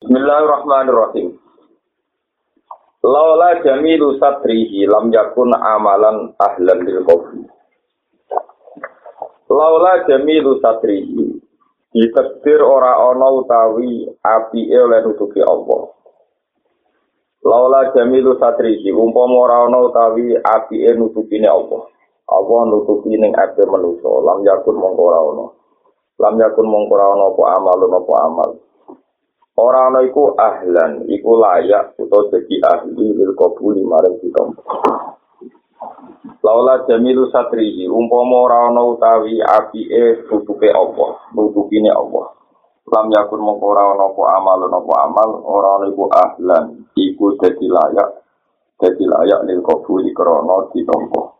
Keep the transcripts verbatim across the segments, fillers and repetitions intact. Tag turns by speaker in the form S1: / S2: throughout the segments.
S1: Bismillahirrahmanirrahim. Laula jamilu satrihi lam yakun amalan ahlan lil qabri. Laula jamilu satrihi ditakdir ora ana utawi apike oleh nutupi Allah. Laula jamilu satrihi umpama ora ana utawi apike nutupine Allah. Allah nutupi ning ape manusa lam yakun mongko ora ana. Lam yakun mongko ora ana apa amalun apa amal. Ora ana iku ahlan, iku layak utawa dadi ahli lil qabuli marang ditampa. Laula jamilu satrihi umpama ora ana utawi apike tutupe Allah, nutupine Allah. Lam yakun mongko ora ana apa amalun apa amal, ora ana iku ahlan, iku dadi layak, dadi layak lil qabuli krana ditampa.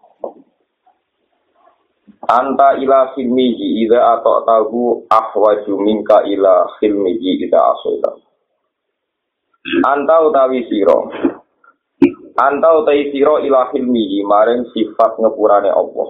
S1: Anta ila khilmihi idza ata'tahu ahwaju minka ila khilmihi idza asaita. Anta utawi sira. Anta utawi sira ila khilmihi maring sifat ngepurane Allah.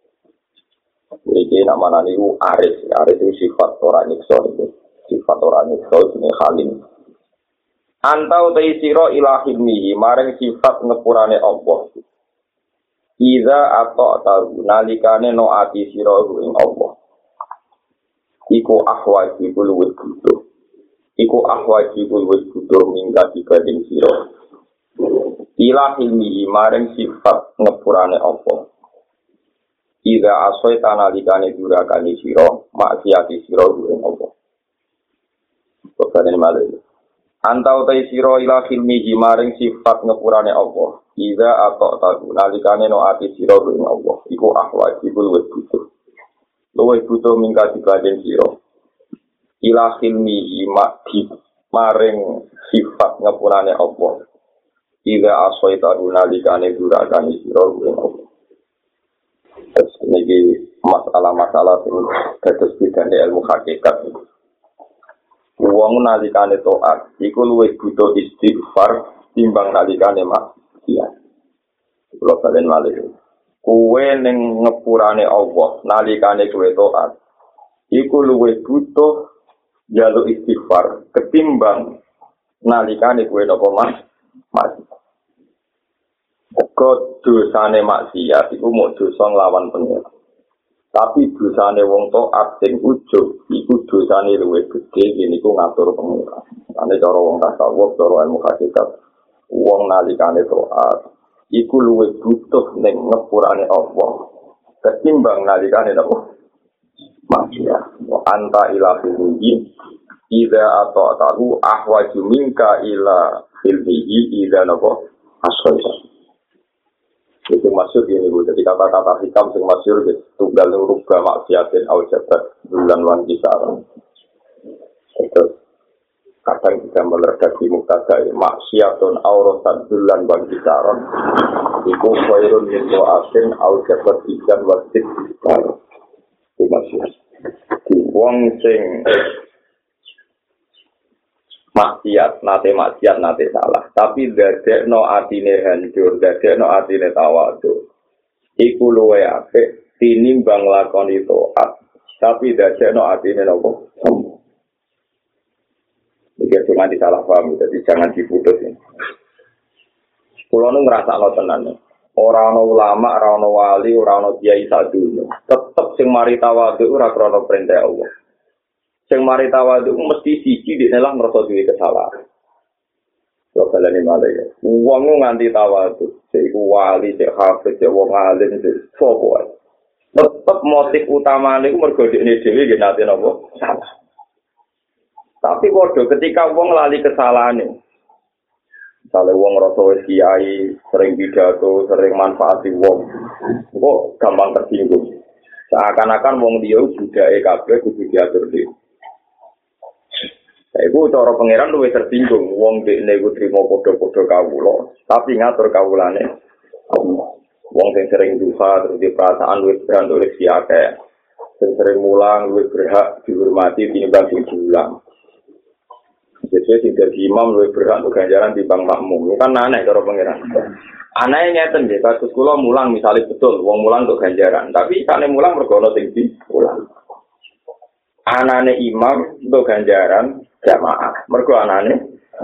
S1: Iki namane niku aris, aris itu sifat ora nyiksa itu. Sifat ora nyiksa jenenge halim. Anta utawi sira ila khilmihi maring sifat ngepurane Allah. Iza atau tahu nalikane no ati sira ing Allah. Iku ahwaji kul wis butuh. Iku ahwaji kul wis butuh minggat dibanding sira. Ila hilmi maring sifat ngepurane Allah. Iza asoi nalikane durakane sira maksiati sira ing Allah. Pokokane malih. Antau tai sira ila hilmi maring sifat ngepurane Allah. Iza atau tahu nalikane no ati sira ing Allah iku ahwaji kul wis butuh luwih butuh mingkat dibanding sira ila khilmi mati maring sifat ngapurane Allah iza asaita nalikane durakane sira ing Allah. Terus niki masalah-masalah sing kados bidane ilmu hakikat. Wong nalikane taat iku luwih butuh istighfar timbang nalikane mak. Iya. Kalau kalian malih, kue neng ngepurane Allah, nalikane kue taat, iku luwih butuh jaluk istighfar ketimbang nalikane kue nopo mas, mas. Kok dosane maksiat, iku mau dosa nglawan pengira. Tapi dosane wong taat sing ujug, iku dosane luwih gede, ini ku ngatur pengira. Ane cara wong tasawuf, cara ilmu hakikat. Wong nalikane taat iku luwih butuh ning ngepurane Allah ketimbang nalikane napa maksiat. Wa anta ila filmihi idza ata'tahu ahwaju minka ila filmihi idza napa asqaita. Itu maksud ini Bu, jadi kata-kata hikam sing masyhur gitu, tunggal rubah maksiatin au jabat bulan wan kisaran. Terus kadang kita meredaksi muktada maksiatun auratan dulan bang kisaron iku khairun min do'atin au jabat ikan wasit itu maksudnya di wong sing maksiat nate maksiat nate salah tapi dadekno atine hancur dadekno atine tawadhu iku luwe apik tinimbang lakoni taat tapi dadekno atine nopo sombong. Jadi cuma disalah paham, jadi jangan diputus ini. Kulo nu ngerasa lo tenan. Orang no ulama, orang no wali, orang no kiai satu. Tetap sing mari tawadhu ora krono perintah Allah. Sing mari tawadhu mesti siji di nelah ngerasa duwe kesalahan. Yo kalane malaya. Wong nganti tawadhu, sik wali, sik hafid, sik wong alim, sik sapa wae. Tetep motif utamane iku mergo dekne dhewe nggih nate napa salah. Tapi bodoh ketika wong lali kesalahane. Misalnya wong rasa wis kiai, sering pidato, sering manfaati wong. Kok gampang tersinggung. Seakan-akan wong dia budake kabeh kudu diatur dhewe. Iku cara pangeran luwih tersinggung wong dekne iku trimo padha-padha kawula, tapi ngatur kawulane. Wong sing sering duha terus di perasaan luwih berat oleh siake. Sing sering mulang luwih berhak dihormati tinimbang sing diulang. Jadi tidak imam lebih berhak untuk ganjaran di bang makmum. Itu kan aneh cara pangeran. Anehnya ngeten nggih, kasus kula mulang misalnya betul, wong mulang untuk ganjaran. Tapi kane mulang mergo tinggi mulang. Anane imam untuk ganjaran jamaah. Mergo anane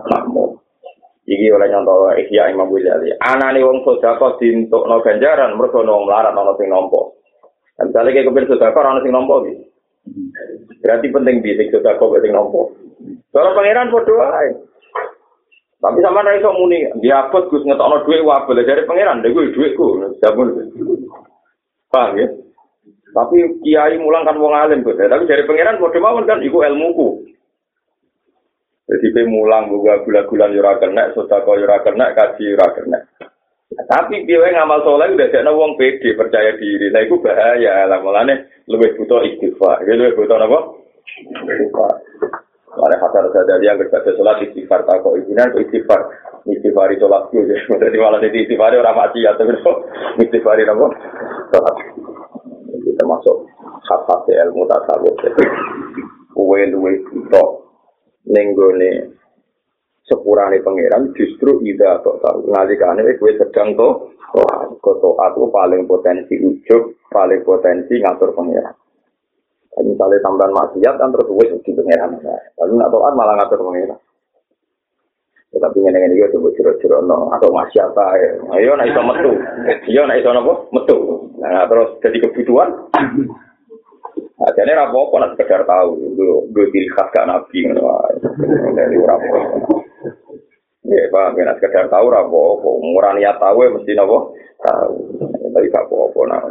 S1: makmum. Iki oleh nyontoh Ihya Imam Ghazali. Anane wong sedekah dientukno ganjaran mergo ana wong melarat ana sing nampa. Misalnya kayak kepir sedekah ana sing nampa iki. Berarti penting di sing sedekah kok sing nampa. Cara pangeran padha wae. Tapi sama ra iso muni, dia abot Gus ngetokno dhuwit wae boleh dari pangeran, lha kuwi dhuwitku. Sampun. Paham ya? Tapi kiai mulang kan wong alim kok. Tapi dari pangeran padha mawon kan iku ilmuku. Jadi pe mulang buka gula-gulan yo ora kena, sedekah yo ora kena, kaji yo ora kena. Tapi piye ngamal saleh udah ana wong pede percaya diri. Lah iku bahaya. Lah mulane luwih butuh istighfar. Luwih butuh apa? Istighfar. Mare hatar sadar yang berkata salat istighfar tak kok ibinan istighfar. Istighfar itu salat yo. Dadi malah dadi istighfar ora maksiat terus. Istighfar apa? Salat. Itu termasuk hak-hak ilmu tasawuf. Kuwe luwih butuh nenggone sepurane pangeran justru ida tok tahu ngalikane kowe sedang to kok aku paling potensi ujug paling potensi ngatur pangeran. Jadi misalnya tambahan maksiat kan terus wis di pangeran. Lalu nak taat malah ngatur pangeran. Tetapi ngene-ngene iki coba jero-jero no atau maksiat ae. Ayo nek iso metu. Iya nek iso napa? Metu. Nah terus jadi kebutuhan. Nah, jadi apa-apa nak sekedar tahu, gue ciri khas gak nabi, dari apa? Ya, pak, nak sekedar tahu apa-apa, murah niat tahu ya mesti apa? Tahu, tapi gak apa-apa nak.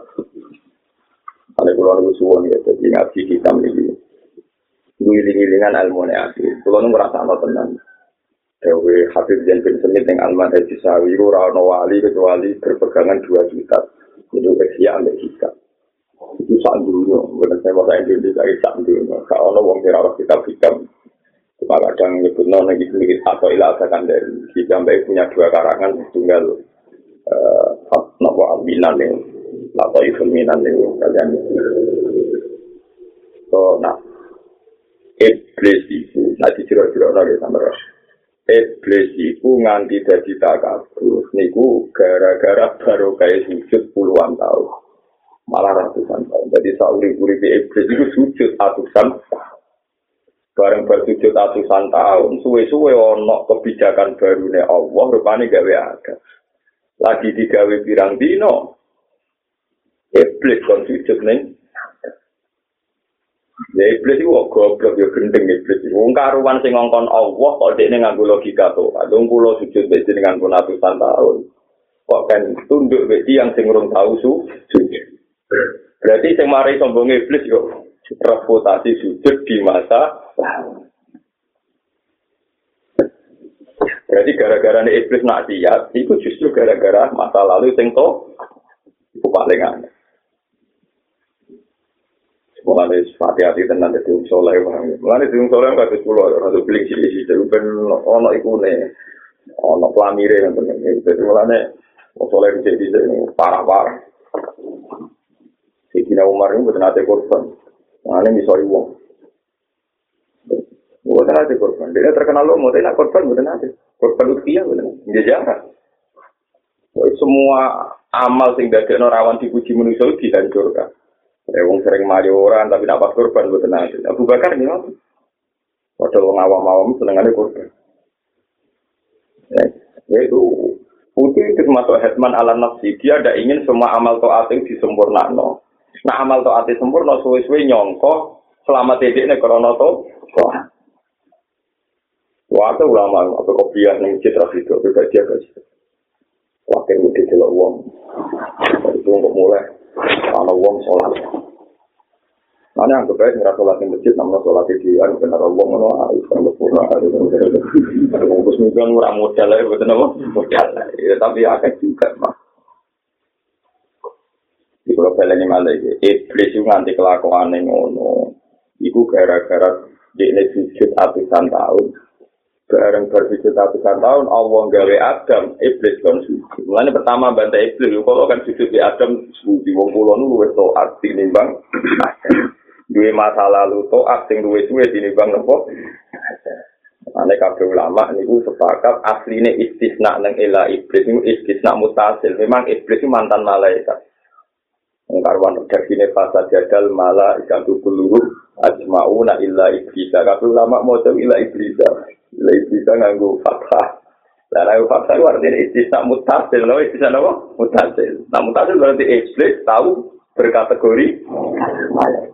S1: Ada pulau nunggu suwon ya, jadi ngaji kita ini, guling-gulingan ilmu neati, pulau nunggu rasa no tenang. Dewi Habib Zain bin Semit yang Alman Haji Sawiru, Rano Wali kecuali berpegangan dua juta, itu Asia Amerika. Itu saat dulunya, bukan saya bahasa Indonesia, itu saat dulunya. Kalau ada orang kira kita hitam, cuma kadang nyebut non lagi sedikit atau ilah asalkan dari kita punya dua karangan tunggal uh, nopo alminan nih, atau ifilminan nih kalian. So, nah, iblis itu, nanti ciro-ciro lagi sama Ros. Iblis itu nganti dari takabur, niku gara-gara baru kayak sujud puluhan tahun. Malah ratusan tahun. Jadi sauri-uri di iblis itu sujud ratusan tahun. Bareng bersujud ratusan tahun, suwe-suwe ono kebijakan barunya Allah, rupanya gawe ada. Lagi digawe pirang dino, iblis kon sujud nih. Ya iblis itu goblok, ya gendeng iblis itu. Karuan sing ngongkon Allah, kok dia nganggo logika tuh. Adung pulau sujud besi dengan pun ratusan tahun. Kok kan tunduk besi yang sing urung tahu su, sujud. Berarti yang mari sombong iblis yo reputasi sujud di masa lalu. Berarti gara-gara iblis maksiat, itu justru gara-gara masa lalu sing to itu paling aneh. Mulane hati-hati tenan dadi wong saleh wae. Mulane dadi wong saleh kados kula ora beli siji-siji ben ono ikune. Ono plamire ngoten iki. Dadi mulane wong saleh iki parah-parah. Sayyidina Umar ini bukan ada korban. Nah, ini misoi wong. Bukan ada korban. Dia terkenal lo, mau tidak korban, bukan ada. Korban utia, bukan. Dia jarang. Semua amal sing dadekno rawan dipuji manusia dihancurkan. Ya wong sering mari orang tapi dapat korban bukan ada. Abu Bakar ini apa? Padahal wong awam-awam senengane korban. Ya itu putih itu termasuk hetman ala nafsi. Dia ada ingin semua amal taat itu disempurnakan. Nah amal taat sempurna suwe-suwe nyongko selama tidiknya karena to. Waktu ulama atau kopiah ning citra video beda dia guys. Wakil mudi delok wong. Itu untuk mulai ana wong salat. Ana anggap bae ngira salat ning masjid namanya salat di anu bener wong ngono iso sempurna. Bungkus mungkin ora modal ae boten apa? Modal. Tapi akeh juga mah. Di kalau pelenya malah iblis itu nganti kelakuan yang ngono, itu gara-gara dia sujud atusan tahun, bareng bersujud atusan tahun, Allah gawe Adam, iblis kan sujud. Mulanya pertama bantai iblis, kalau kan sujud di Adam, di wong kulon lu itu arti nimbang, dua masa lalu to arti dua dua di nimbang nopo. Ane kabeh ulama niku sepakat asline istisna nang ila iblis niku istisna mutasil. Memang iblis itu mantan malaikat. Karwan terkini fasa jadal malah ikan tukul luruh ajma'una illa iblisa. Kabeh ulama mau illa iblisa. Lah bisa nganggo fathah. Lah nek fathah itu artinya istisna mutasil, lho istisna apa? Mutasil. Nah mutasil berarti iblis tahu berkategori malaikat.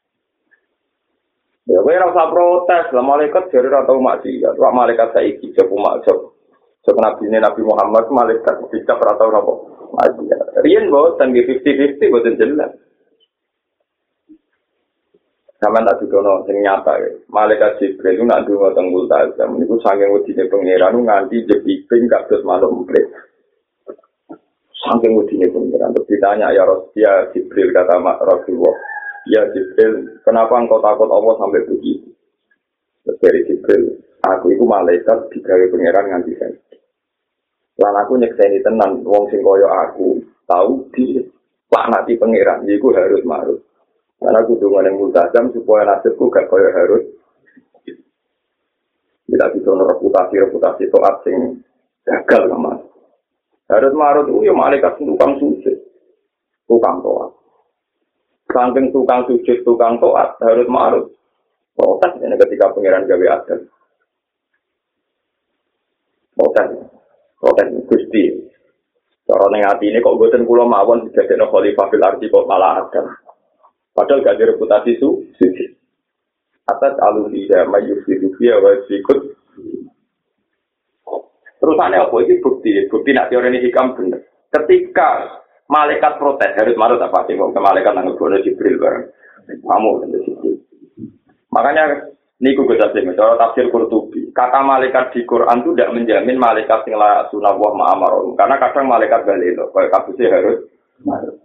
S1: Ya kowe ora usah protes, lah malaikat jare ora tau maksiat. Wak malaikat saiki jek maksud. Sebab Nabi Nabi Muhammad malaikat dicap ora tau napa. Maksiat. Riyen boten nggih fifty fifty boten jelas. Sama tak didono sing nyata ya. Malaikat Jibril itu nak ndonga teng Multazam niku saking wedine pangeran nganti jepiping kados manuk emprit. Saking wedine pangeran terus ditanya ya Rasul Jibril kata Rasulullah, "Ya Jibril, kenapa engkau takut Allah sampai begitu?" Terus dari Jibril, "Aku itu malaikat digawe pangeran nganti saiki. Lan aku nyekseni tenan wong sing kaya aku tahu di laknati pangeran iku harus marut. Karena aku dengan yang multazam supaya nasibku gak kaya harus. Tidak bisa reputasi-reputasi toat sing gagal sama. Harus marut itu ya malaikat tukang sujud. Tukang toat. Saking tukang sujud, tukang toat harus marut. Protes ini ketika pangeran gawe adat. Protes. Protes Gusti. Cara ning atine kok mboten kula mawon didadekno khalifah fil ardi kok malah adat. Padahal gak ada reputasi su, suci. Atas alurida mayusidu dia wasikut. Terusannya apa? Ini bukti. Bukti nak teori ini hikam benar. Ketika malaikat protes, harus marut apa sih? Ke malaikat nanggung bono Jibril bareng. Kamu tentu Jibril. Makanya, ini gue jelasin. Cara tafsir Qurtubi. Kata malaikat di Quran itu tidak menjamin malaikat yang la sunawah ma'amaron. Karena kadang malaikat balik. Kalau kasusnya harus marut.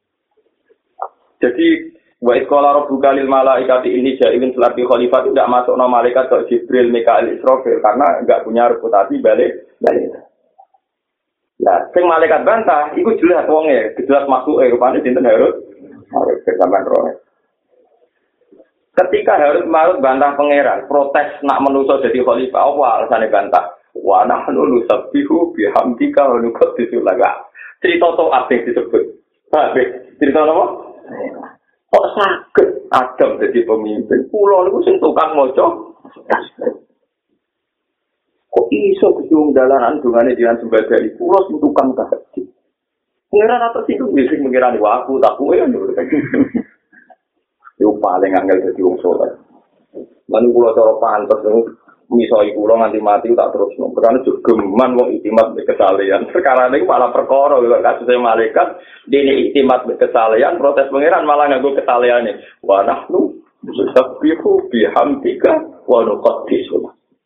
S1: Jadi, wa iskola rabbuka lil malaikati inni ja'ilun fil ardi khalifah itu tidak masuk nama malaikat ke Jibril, Mikail, Israfil karena enggak punya reputasi balik balik. Nah, sing malaikat bantah, iku jelas wonge, jelas maksuke rupane sinten Harut. Harut sampean roh. Ketika Harut marut bantah pangeran, protes nak menuso jadi khalifah, apa alasane bantah? Wa nahnu nusabbihu bihamdika wa nuqaddisu laka. Cerita to asing disebut. Ha, cerita apa? Kok sakit Adam jadi pemimpin? Pulau itu sing tukang moco. Kok iso kesiung dalanan dungane jangan sebagai pulau sing tukang tahajud. Pengiran atas itu bisa mengirani aku tak kue ya. Itu paling angel jadi wong soleh. Lalu pulau cara pantas misoi pulau nganti mati tak terus no. Karena juga geman wong itimat kesalahan. Sekarang ini malah perkara kalau kasusnya malaikat dini itimat kesalahan protes pangeran malah nganggo kesalahan ini. Wa nahnu nusabbihu bihamdika wa nuqaddisu.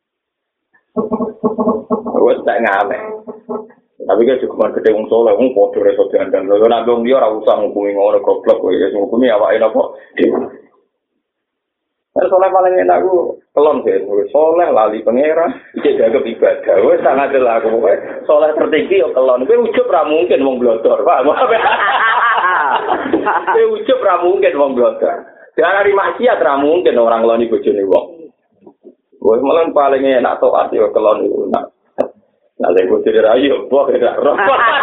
S1: Wes tak ngame. Tapi kan cukup gede wong soleh wong padha reso diandang. Lha nek wong liya ora usah ngukumi ngono goblok kowe ya ngukumi awake napa. Nah, soleh paling enak aku kelon sih, soleh lali pangeran, iki jaga ibadah, wes sangat jelas aku, soleh tertinggi yo kelon, gue ujub ra mungkin wong blodor, pak, gue ujub ra mungkin wong blodor, dari maksiat ra mungkin orang kelon ibu bojone wong, gue malah paling enak toat yo kelon itu, nak, nak lego jadi rayu, buah tidak roh,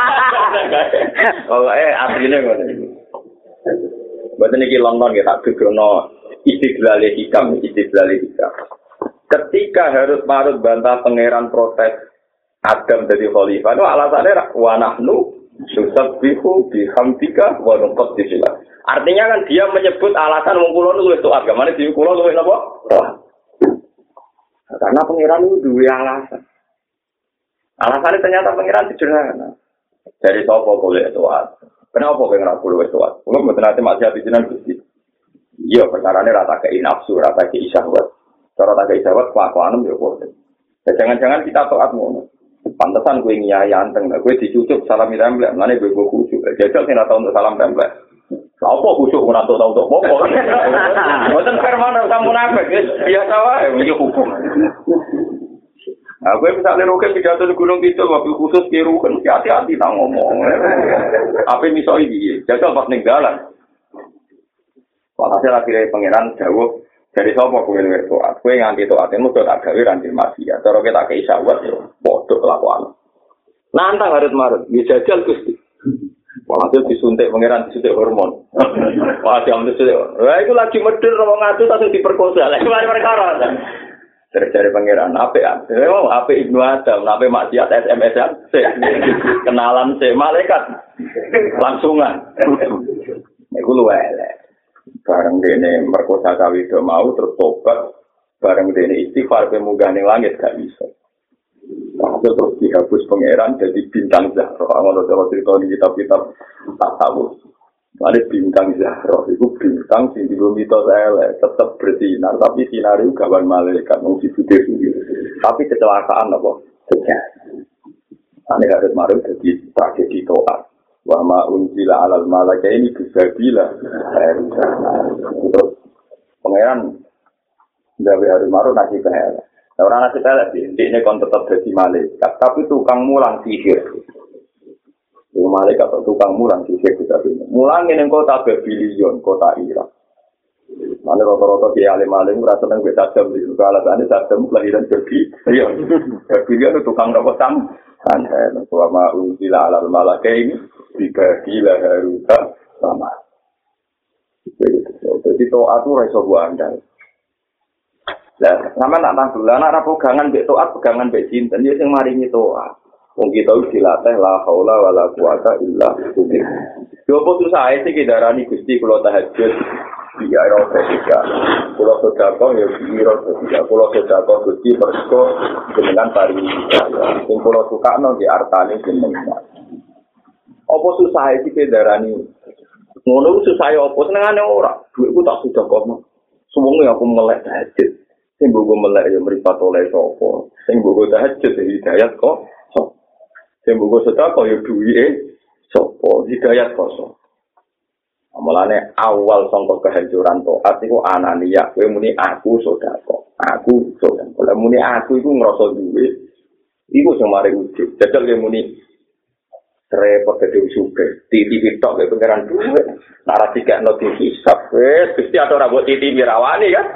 S1: oh eh aslinya gue, buat ini kilong kita kegono. Istiqlal hikam, istiqlal hikam. Ketika Harut Marut bantah pangeran protes Adam dari khalifah, itu alasannya wa nahnu nusabbihu bihamdika wa nuqaddisu. Artinya kan dia menyebut alasan wong kula niku wis taat, gamane dhewe kula luwih napa? Karena pangeran itu duwe alasan. Alasannya ternyata pangeran sederhana. Dari sapa boleh taat? Kenapa kowe ora kulo wis taat? Kulo mboten ate maksiat jenengan Gusti. Iya, perkarane rata kei nafsu, rata kei syahwat. Cara rata kei syahwat, kelakuan ya kok. Jangan-jangan kita taat ngono. Pantesan gue nyai anteng, gue dicucuk salam template, mana gue gue khusyuk. Jajal sih tahu untuk salam template. Apa khusyuk orang tahu tahu untuk apa? Bukan firman sama munafik, biasa wae, ini hukum. Nah, gue misalnya roket pidato di Gunung Kidul, waktu khusus biru kan hati-hati tak ngomong. Apa misalnya dia, jajal pas ninggalan. Walhasil akhirnya pangeran jauh dari sopo kue nuwes toat, kue nganti toatin mudah tak gawe ranti maksiat. Cara kita ke isawat yo, bodoh kelakuan. Nantang Harut Marut, dia jajal Gusti. Walhasil disuntik pangeran disuntik hormon. Wah jam disuntik. Wah itu lagi medher wong ngadu langsung diperkosa. Lagi mari perkara. Dari pangeran apik oh apik Ibnu Adam apik maksiat S M S-an kenalan se malaikat langsungan niku luwe elek bareng dene merkosa kawido mau terus tobat bareng dene istighfar pe munggah ning langit gak bisa terus dihapus pangeran jadi bintang Zahra ngono to cerita di kitab-kitab tasawuf. Ada bintang Zahra, itu bintang sing digo mitos elek, tetap bersinar tapi sinar itu gawan malaikat mung dibude sendiri. Tapi kecelakaan apa? Terjadi. Ane harus marah jadi tragedi toat. Wa ma unzila alal malaika ini bisabila. Terus pangeran gawe harus marah nasi elek. Orang nasi elek ini kon tetap jadi malaikat, tapi tukang mulang sihir. Malaikat atau tukang mulang sihir kita ini. Mulang ini kota Babylon, kota Irak. Mana rata-rata dia alim-alim merasa senang beda jam di juga alasannya jam kelahiran Babylon. Babylon itu tukang rapotan. Aneh, selama unsila alal malaka ini dibagi haruta sama. Jadi toat itu reso buandal. Nah, sama nak tahu lah, nak pegangan bek toat, pegangan bek cinta, dia yang maringi toat. Wong kita wis dilatih la haula wala quwata illa billah. Yo apa susah sih kidarani Gusti kula tahajud iya ro ketika. Kula sedekah ya biro ketika kula sedekah Gusti persko jenengan pariwisata. Sing kula sukakno di artane jenengan. Apa susah sih kidarani ngono susah apa senengane ora. Duitku tak sedekah. Suwunge aku melek tahajud. Sing bogo melek ya mripat oleh sapa. Sing bogo tahajud hidayat kok. Sing buku sedekah ya duwike sapa hidayat kosong. Amalane awal sangka kehancuran taat iku anania kowe muni aku sedekah. Aku sedekah. Lah muni aku iku ngrasa duwe. Iku sing mari ujug. Jajal kowe muni repot dadi suge. T V tok kowe pengeran duwe. Nek ora dikekno dihisab wis Gusti ora mbok T V mirawani kan.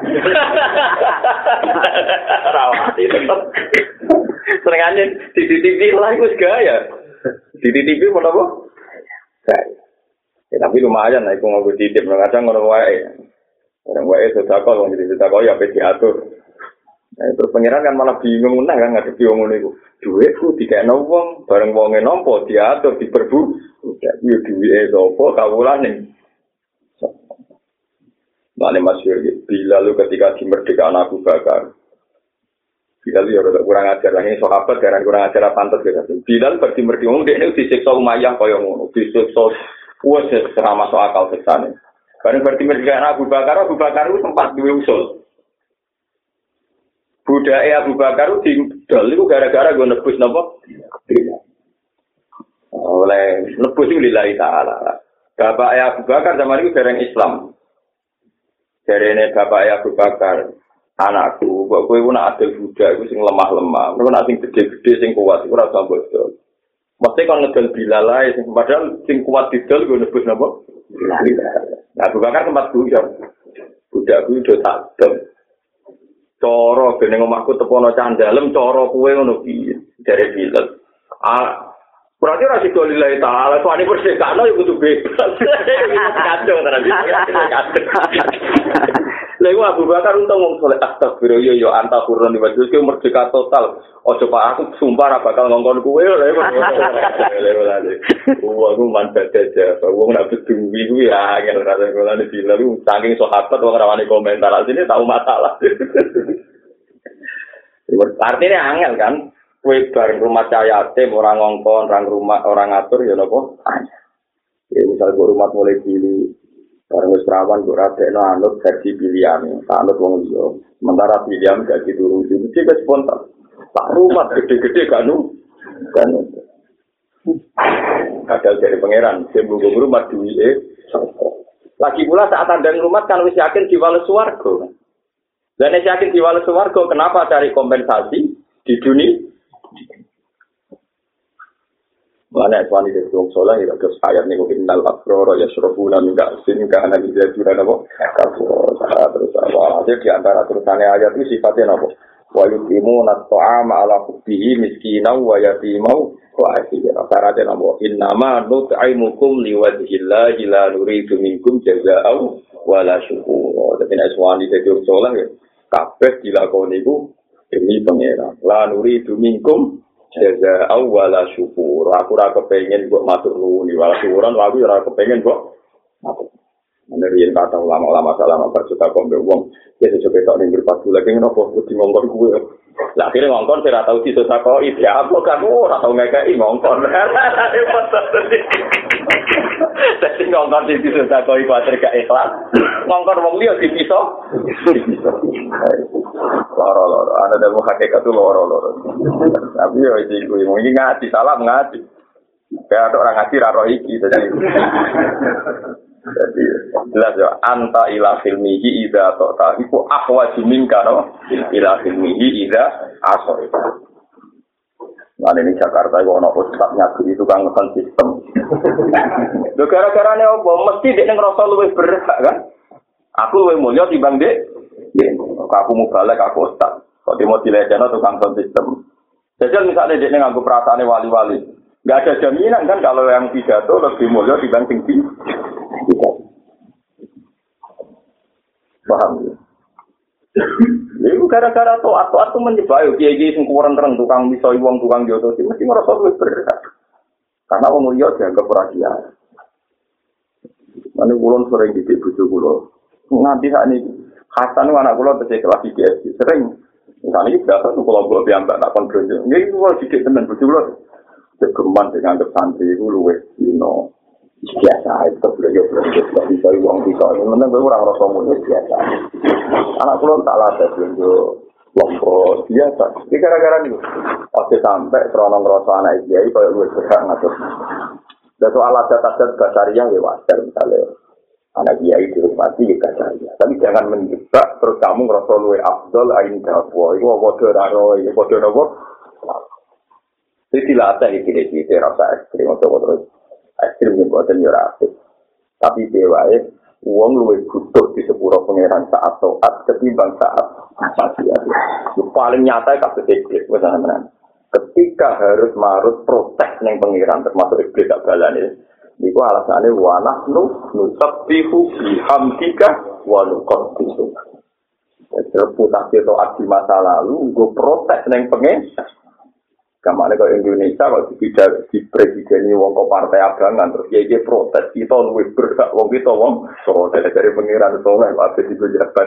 S1: Rawani tetep. Senengane di T V lah iku gaya. Di T V apa apa? Gaya. Ya, tapi lumayan lah iku nggo titip kadang ngono wae. Orang wae sedekah wong jadi sedekah ya pe diatur. Nah, terus pangeran kan malah bingung meneh kan ngadepi wong ngono iku. Dhuwitku dikekno wong, bareng wonge nampa diatur diperbu. Ya yo duwike sapa kawulane. Mane masyhur bila lu ketika dimerdekakan Abu Bakar. Bilal ya rada kurang ajar lagi sahabat karena kurang ajar pantes gitu. Bilal berarti merdi wong dekne disiksa Umayyah kaya ngono, disiksa wes ora masuk akal seksane. Bareng berarti merdi Abu Bakar, Abu Bakar itu sempat duwe usul. Budake Abu Bakar didol iku gara-gara go nebus napa? Oleh nebus iku lillahi taala. Bapak Abu Bakar zaman itu dereng Islam. Jarene bapak Abu Bakar anakku, kok kowe nak adil budak iku sing lemah-lemah. Kowe nak sing gede-gede sing kuat iku ora usah mbok. Mesti kon ngedol Bilal ae sing padahal sing kuat didol go nebus napa? Bilal. Nah, Abu Bakar sempat guyon. Budakku udah tak dol. Cara gene omahku tepono candalem cara kowe ngono piye? Jare Bilal. Ah, berarti ora sik lillahi taala, soalnya persekano ya kudu bebas. Kacau tenan iki. Lha Abu Bakar untung wong saleh astagfirullah yo yo antahurun di wajib ke merdeka total. Ojo Pak aku sumpah ora bakal ngongkon kowe lha. Wah aku manfaat aja. Wong nak beduwi kuwi ya angel rada golane Bilal saking sahabat wong ora wani komentar sini tahu masalah. Artinya angel kan. Kue bareng rumah cayatim orang ngongkon, orang rumah orang ngatur ya nopo. Ya misal gue rumah mulai pilih, bareng wis perawan gue radekno anut versi pilihan, anut wong liya. Sementara pilihan gak dituruti, mesti wis spontan. Tak rumah gede-gede kan nu, kan. Kadal dari pangeran, sembung rumah duwike. Lagi pula saat andang rumah kan wis yakin diwales swarga. Dan yakin diwales swarga, kenapa cari kompensasi di dunia? Mana tuan itu dong soalnya ya terus ayat nih mungkin dal akroro ya surabuna minta sini ke anak dia juga nabo kafur terus awal aja di antara terusannya ayat itu sifatnya nabo wa yuqimu at-ta'ama ala hubbihi miskinan wa yatimau wa asira syaratnya nabo innama nut'imukum liwajhillahi la nuridu minkum jazaa'u wala syukur. Tapi nek suwani dadi soalnya kabeh dilakoni iku demi pangeran. La nuridu minkum jazaa'u wala syukur. Aku ora kepengin kok matur nuwun wala syukuran, aku ora kepengin kok matur. Menerian kata ulama-ulama salam berjuta kombe wong ya sesuai tok ning pas lagi ngopo kudu ngongkon kuwe. Lah akhire ngongkon ora tau disusah kok iki apa kamu ora tau ngekeki ngongkon. Dadi ngongkon disusah kok iku atur gak ikhlas. Ngongkon wong liya dipiso. Loro-loro ana demo hakikat loro-loro. Tapi yo iki kuwi mung ngaji salam ngaji. Kayak orang ngaji ra roh iki dadi. Jadi jelas ya anta ila filmihi idza ta'ta iku ahwaju minka no ila filmihi idza asor. Nah ini Jakarta itu ono ustaz nyagu itu kan ngesan sistem. Lho gara-garane apa mesti dek ngrasa luwih berhak kan? Aku luwih mulya timbang dek. Aku mau balik aku ustaz. Kok dimo dilecehno tukang son sistem. Jajal misalnya dek nganggo perasaane wali-wali. Enggak ada jaminan kan kalau yang pidato lebih mulya dibanding tinggi. Paham ya? Itu gara-gara toat-toat itu menyebayu kiai-kiai sing kurang terang tukang misoi wong tukang jodoh mesti ngerasa luwih berhak. Karena wong liya dianggap ora dia. Mane kulon sering didik bojo kula. Nganti sakniki Hasan anak kula tesih kelas iki sering. Misalnya iki biasa kula kula piyambak tak kon blonjo. Nggih kula didik tenan bojo kula. Kegeman dianggap santri iku luwih dino. Biasa itu beliau beliau bisa uang bisa ini mana gue orang rasa mulia biasa anak pulau tak latih beliau lompok biasa ini gara-gara nih waktu sampai seronong rasa anak kiai kalau gue berhak ngatur dan soal adat-adat basariah ya wajar misalnya anak kiai dihormati ya basariah tapi jangan menjebak terus kamu ngerasa luwe afdol ain dapwa itu bodoh raro itu bodoh nopo jadi dilatih ini ini rasa ekstrim atau terus ekstrim yang buatan yorasik. Tapi dewae, uang luwih butuh di sepuro pangeran saat toat ketimbang saat maksiat. Yang paling nyata kasus iblis, misalnya. Ketika harus marut protes neng pangeran termasuk iblis tak balane. Niku alasannya wa nahnu nusabbihu bihamdika wa nuqaddisu. Reputasi toat di masa lalu, gue protes neng pangeran. Kamane kok Indonesia kok dipidak di presiden wong kok partai abangan terus ya protes kita luwih berhak wong kita wong so dari pengiran soleh apa di pejabat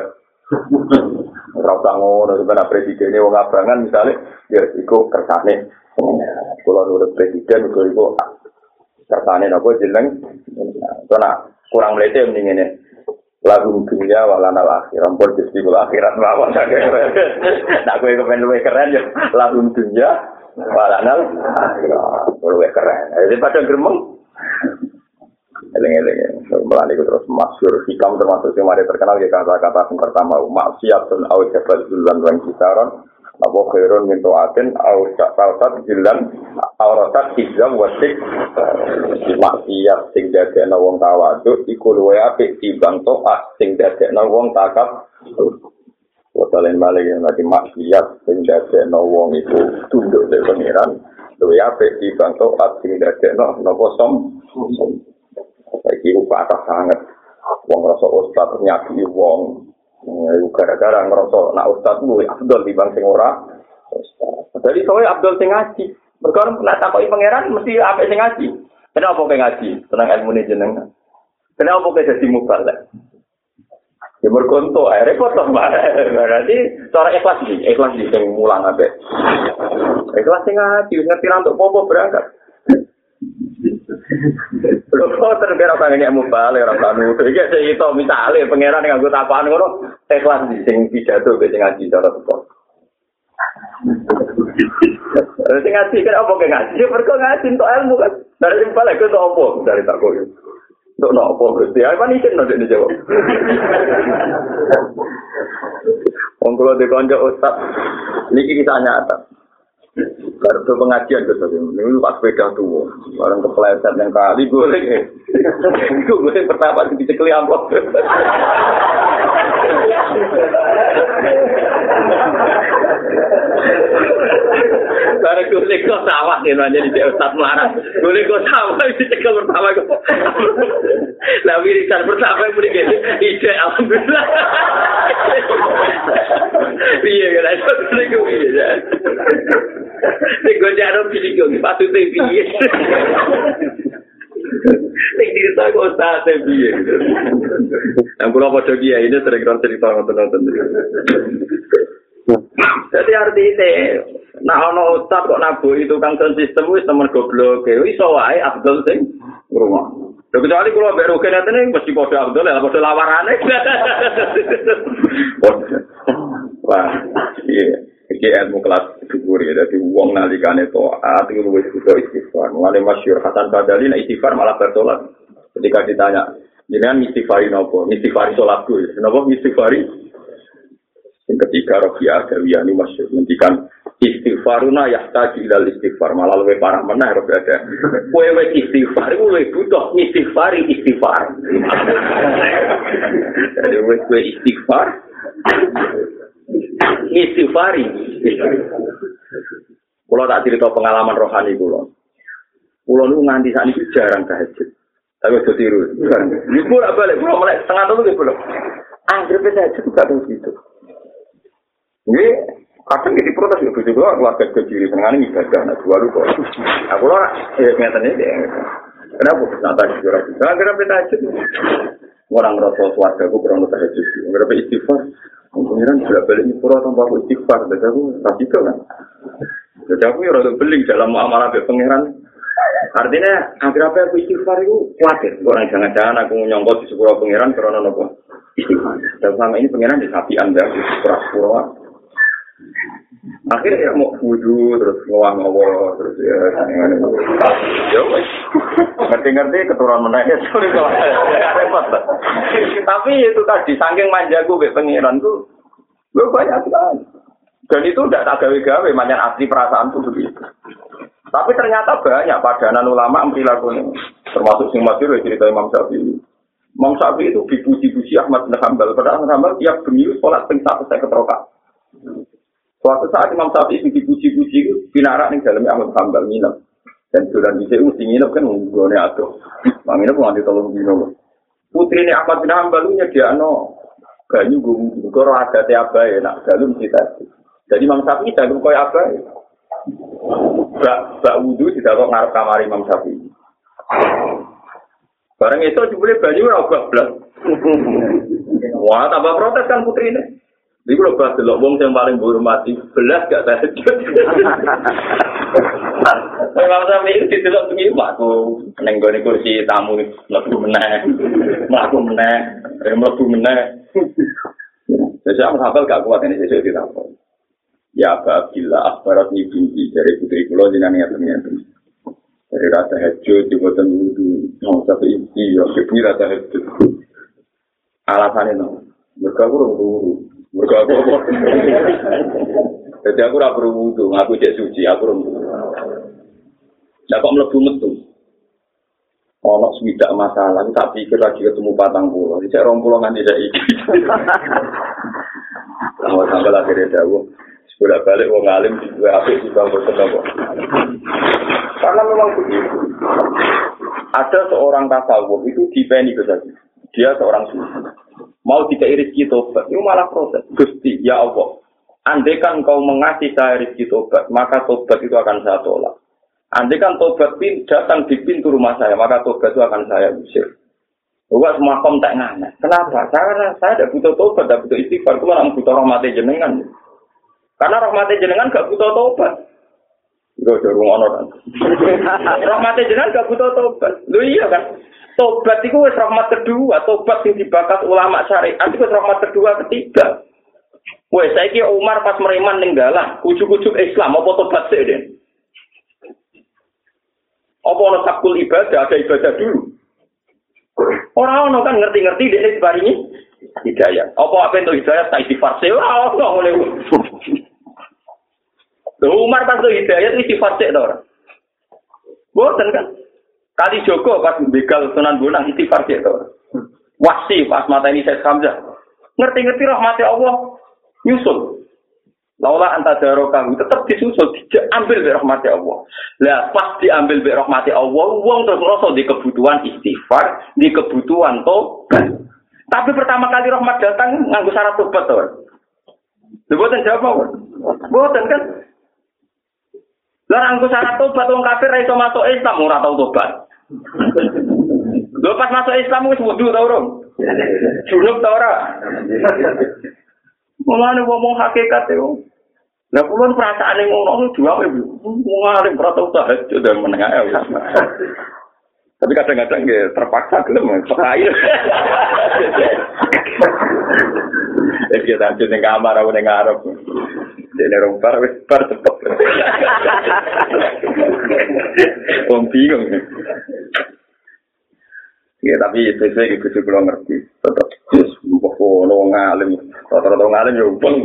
S1: ora usah ngono sebenarnya presiden wong abangan misalnya ya iku kersane kula nurut presiden iku iku kersane napa jeneng ora kurang mlete mending ngene lagu dunia walana akhir ampun Gusti kula akhirat mawon nak kowe kepen luwih keren ya lagu dunia walanal akhirat luwih keren daripada gremeng eleng-eleng melani terus masyhur hikam termasuk yang mari terkenal ya kata-kata yang pertama maksiatun au jabal zulan lan kisaron apa khairun min taatin au sa'atat jilan auratat hizam wasik maksiat sing dadekno wong tawadhu iku luwih apik timbang taat sing dadekno wong takab Wotalen balik yang nanti maksiat sing dadekno wong iku tunduk dari pangeran luwih apik timbang taat sing dadekno napa som saiki upah sangat wong rasa ustaz nyaki wong gara-gara ngerasa nak ustaz luwih afdal timbang sing ora ustaz. Jadi soalnya afdal sing ngaji. Mergo nek takoki pangeran mesti apik sing ngaji. Kenapa kowe ngaji? Tenang ilmune jenengan. Kenapa kowe dadi mubalek? Ya berkonto, akhirnya repot lah berarti cara ikhlas sih, ikhlas sih yang mulang abe. Ikhlas sih ngaji, ngerti untuk popo berangkat. Kok terkira pengennya mubalik orang tanu, jadi saya itu misalnya pangeran yang anggota apaan kono ikhlas sih, yang pidato, yang ngaji cara tepat. Sing ngaji kan apa kayak ngaji? Mereka ngaji untuk ilmu kan. Dari balik ke apa? Dari takut. Untuk nopo berarti apa nih kan nanti dijawab. Wong kula dikonco ustaz niki kita nyata. Baru pengajian gitu ini pas sepeda tuh bareng kepleset yang kali golek. Iku golek pertama dicekli amplop.
S2: Bareng golek kok sawah yen jadi Cek Ustaz Melarat. Golek kok sawah dicekel pertama kok. Lah wiridan pertama muni kene ide alhamdulillah. Piye kan iso golek kok piye. Nek go jaro pilih kok patute piye. Nek cerita kok sate piye. Yang kula padha kiai ini sering cerita ngoten-ngoten. Jadi artinya, nah ono ustaz kok nabuhi tukang sound system wis temen goblok, iso wae Abdul sing ngrungok. Lha kecuali kula mbek rogen ngene mesti padha Abdul lah, padha lawarane. Wah, iya, iki ilmu kelas dhuwur ya, dadi wong nalikane taat iku luwih butuh istighfar. Mulane masyhur Hasan Badali nek istighfar malah bertolak. Ketika ditanya, jenengan istighfari napa? Istighfari salatku. Napa istighfari? Yang ketiga Rabi'ah Adawiyah ini masih menghentikan istighfaruna yahtaju ilal istighfar malah lebih parah menah Rabi'ah. Kowe istighfar kowe butuh istighfari istighfar. Jadi kowe istighfar istighfari. Kalau tak cerita pengalaman rohani kula. Kula niku nganti sakniki jarang tahajud. Tapi aja tiru. Niku ora balik kula melek setengah telu kula. Anggere tahajud gak tahu gitu. Ini kadang jadi protes ya, begitu keluarga kecil senengane ibadah, nah dua lu kok. Aku lah, ya nyatanya deh. Kenapa? Nah tadi juga lagi. Karena kenapa tahajud? Orang merasa keluarga aku kurang tahajud. Kenapa istighfar? Kemudian sudah balik pura tanpa aku istighfar. Jadi aku tak itu kan. Jadi aku ya rada beling dalam muamalah be pangeran. Artinya akhir apa aku istighfar itu khawatir. Orang jangan-jangan aku nyongkot di sepuluh pangeran karena nopo istighfar. Dan selama ini pangeran di sapi anda di sepuluh akhirnya ya mau wudu terus ngawang-ngawang terus ya ya ngerti-ngerti keturunan menanya sorry kalau repot tapi itu tadi saking manjaku be pengiran tuh gue banyak sekali dan itu udah tak gawe-gawe manjan asli perasaan tuh begitu tapi ternyata banyak padanan ulama perilakunya termasuk sing masyhur cerita Imam Syafi'i. Imam Syafi'i itu dipuji-puji Ahmad bin Hanbal padahal Hanbal tiap bengi sholat ping satu seket rakaat. Suatu saat Imam Syafi'i dipuji-puji itu pinarak ning daleme Ahmad Hanbal nginep. Dan dolan dhisik mesti nginep kan nggone atuh. Mang nginep nganti tolong dino. Putrine Ahmad bin Hanbal nyediakno banyu nggo karo adate abahe nak dalu mesti tadi. Jadi Imam Syafi'i dalu koyo abahe. Bak bak wudu didakok ngarep kamar Imam Syafi'i. Bareng itu jebule banyu ora blas. Wah, tambah protes kan putrine. Iku lho bahas delok wong sing paling dihormati, belas gak tahajud. Memang sampe iki didelok bengi aku ning gone kursi tamu mlebu meneh. Mlaku meneh, mlebu meneh. Jadi aku hafal gak kuat ini sesuk ditapon. Ya Abdillah akhbarat ni binti dari putri kula jenenge ngeten-ngeten. Dari rata tahajud di boten wudu, mau sampai iki yo sepi rata tahajud. Alasane no, mergo aku ora mergo aku apa? Jadi aku ora perlu wudu, aku cek suci, aku ora wudu. Lah kok mlebu metu. Ono swidak masalah, tak pikir lagi ketemu patang pulau. Cek rong pulau nganti saiki. Lah sampe akhire dawuh, sudah balik wong alim di dua apik di bangku kok. Karena memang begitu. Ada seorang tasawuf itu dipeni saja. Dia seorang sufi. Mau tidak rezeki tobat, itu malah proses. Gusti, ya Allah, andaikan kau mengasih saya rezeki tobat, maka tobat itu akan saya tolak. Andaikan tobat datang di pintu rumah saya, maka tobat itu akan saya usir. Bukan semua kom tak nganek. Kenapa? Karena saya tidak butuh tobat, tidak butuh istighfar. Itu malah butuh rahmat jenengan. Karena rahmat jenengan gak butuh tobat. Itu jorong ono kan. Rahmat jenengan gak butuh tobat. Loh iya kan? Tobat itu wis rahmat kedua, tobat yang dibakas ulama syariat itu wis rahmat kedua ketiga. Wes saiki Umar pas mereman ning dalan, ujug-ujug Islam apa tobat sik, Den? Apa ono sakul ibadah, ada ibadah dulu. Ora ono kan ngerti-ngerti dekne diparingi hidayah. Apa apa entuk hidayah tak istighfar sik ora ono ngene. Umar pas hidayah itu istighfar sik to ora? Boten kan? Kali Joko pas begal Sunan Bonang istighfar sik to. Wasi pas mateni Syekh Hamzah. Ngerti-ngerti rahmat Allah nyusul. Laula antadaro kamu tetap disusul diambil be rahmati Allah. Lah pas diambil be rahmati Allah, wong terus ngrasa di kebutuhan istighfar, di kebutuhan tobat. Tapi pertama kali rahmat datang nganggo syarat tobat to. Mboten jawab. Mboten kan. Lah nganggo syarat tobat wong kafir ra iso masuk Islam ora tau tobat. Lho pas masuk Islam wis wudu ta urung? Junub ta ora? Mulane ngomong hakikat yo. Lah kula perasaane ngono dua wae. Wong alim ora tau tahajud dan menengah ya. Tapi kadang-kadang nggih terpaksa gelem sekali. Eh kita tahajud ning kamar aku ning ngarep. Dene rompar wis bar cepet. Wong bingung. Ya tapi itu saya ikut juga ngerti. Tetap terus pokok ngalim, rata-rata ngalim ya bang.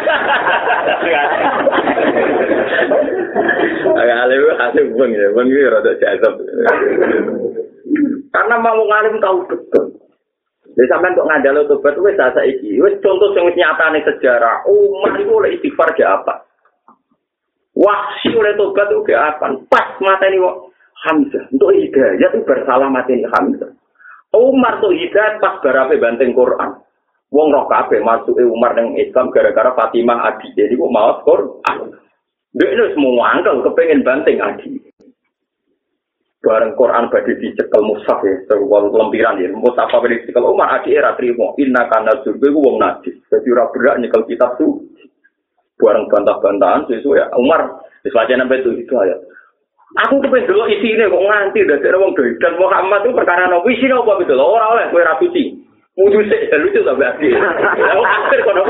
S2: Ngalim hasil bang ya, bang itu rata jazab. Karena mau ngalim tahu betul. Jadi sampai untuk ngandalo tobat itu saya iki, wes contoh yang nyata nih sejarah. Umar itu oleh istighfar ke apa? Wahsi oleh tobat itu ke apa? Pas mata ini Hamzah untuk hidayah itu bersalah mati ini Hamzah. Umar tuh hidayah pas barape banteng Quran. Wong roh kabeh masuke Umar nang Islam gara-gara Fatimah adi. Jadi kok maos Quran. Dia itu semua angkel kepengen banteng adi. Bareng Quran badhe dicekel mushaf ya, terus lempiran ya. Mushaf apa dicekel Umar adi era trimo. Inna kana surga ku wong najis. Dadi ora berak nyekel kitab tu. Bareng bantah-bantahan sesuk ya Umar wis wacana betul itu ayat. Aku kepen delok isine kok nganti dadi wong doidan Muhammad itu perkara nopo isine apa betul ora oleh kowe ra suci. Mudu sik lucu ta berarti. Aku akhir kono.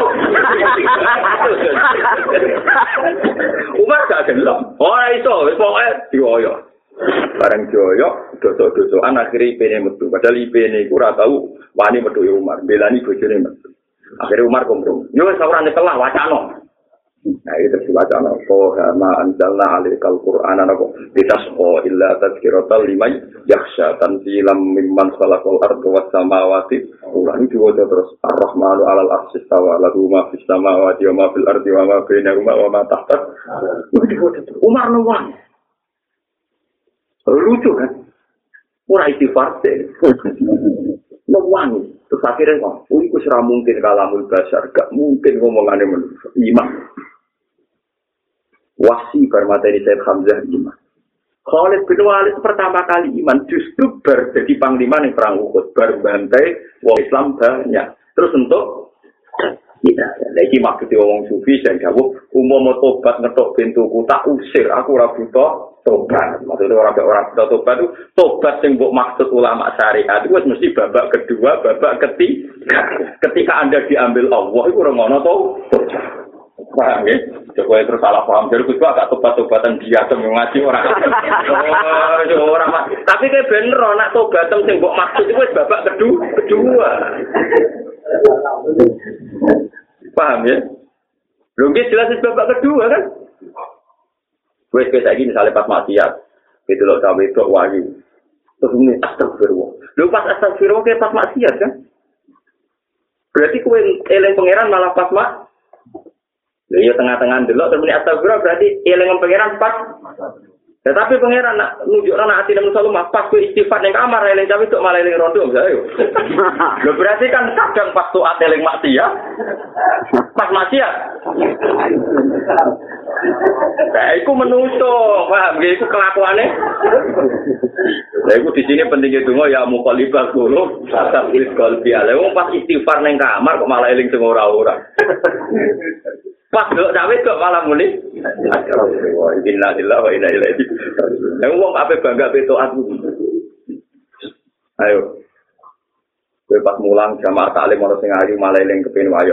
S2: Umar gak gelem. Ora iso wis pokoke dioyo. Bareng dioyo dosa-dosaan akhire ipene metu. Padahal ipene iku ora tau wani metu Umar, belani bojone metu. Akhire Umar kompromi. Yo wis ora nyekel wacana. Nah itu diwacana Qoha ma anzalna alaikal Qur'ana nako litasqa illa tadhkiratan liman yakhsha tanzilam mimman khalaqal arda was samawati ulangi diwaca terus ar-rahmanu 'alal arsy istawa lahu ma fis samawati wa ma fil ardi wa ma bainahuma wa ma tahta Umar nuwang lucu kan ora istighfar deh nuwang terus akhirnya kok oh iku ora mungkin kalamul basar gak mungkin ngomongane manusia iman Wahsi bermateri Sayyid Hamzah iman. Khalid bin Walid pertama kali iman justru ber jadi panglima ning perang Uhud, bar bantai wong Islam banyak. Terus untuk kita lagi maksud wong sufi sing dawuh umpama tobat ngetok pintuku tak usir aku ora butuh tobat. Maksudnya orang ora butuh tobat itu tobat sing mbok maksud ulama syariat itu mesti babak kedua, babak ketiga. Ketika Anda diambil Allah itu ora ngono to. Paham ya? Coba terus salah paham. Jadi gue agak tobat-tobatan dia yang ngaji orang. Oh, orang mas. Tapi kayak bener, nak tobatan yang mbok maksud itu babak kedua. kedua. Paham ya? Logis jelas itu babak kedua kan? Gue kayak gini misalnya pas maksiat, itu loh sampai itu wahyu. Terus ini astagfirullah. Lu pas astagfirullah kayak pas maksiat kan? Berarti gue eleng pangeran malah pas mak. Ya tengah-tengah delok terus muni astagfirullah berarti eling pangeran pas. Tetapi pangeran nak nunjukna ati nang selalu pas ku istighfar ning kamar eling cawe tok malah eling rondo misalnya yo. Lho berarti kan kadang pas taat eling maksiat. Pas maksiat. Nah, iku menungso, paham nggih iku kelakuane. Lah iku di sini pentingnya donga ya muqallibal qulub, tasabbil qalbi. Lah wong pas istighfar ning kamar kok malah eling sing ora-ora. Pas dok cawe kok malah muni. Astagfirullah, inna lillahi wa inna ilaihi raji'un. Lah wong ape bangga be taat. Ayo. Kowe pas mulang jamaah taklim ora sing ayu malah eling kepengin wayo.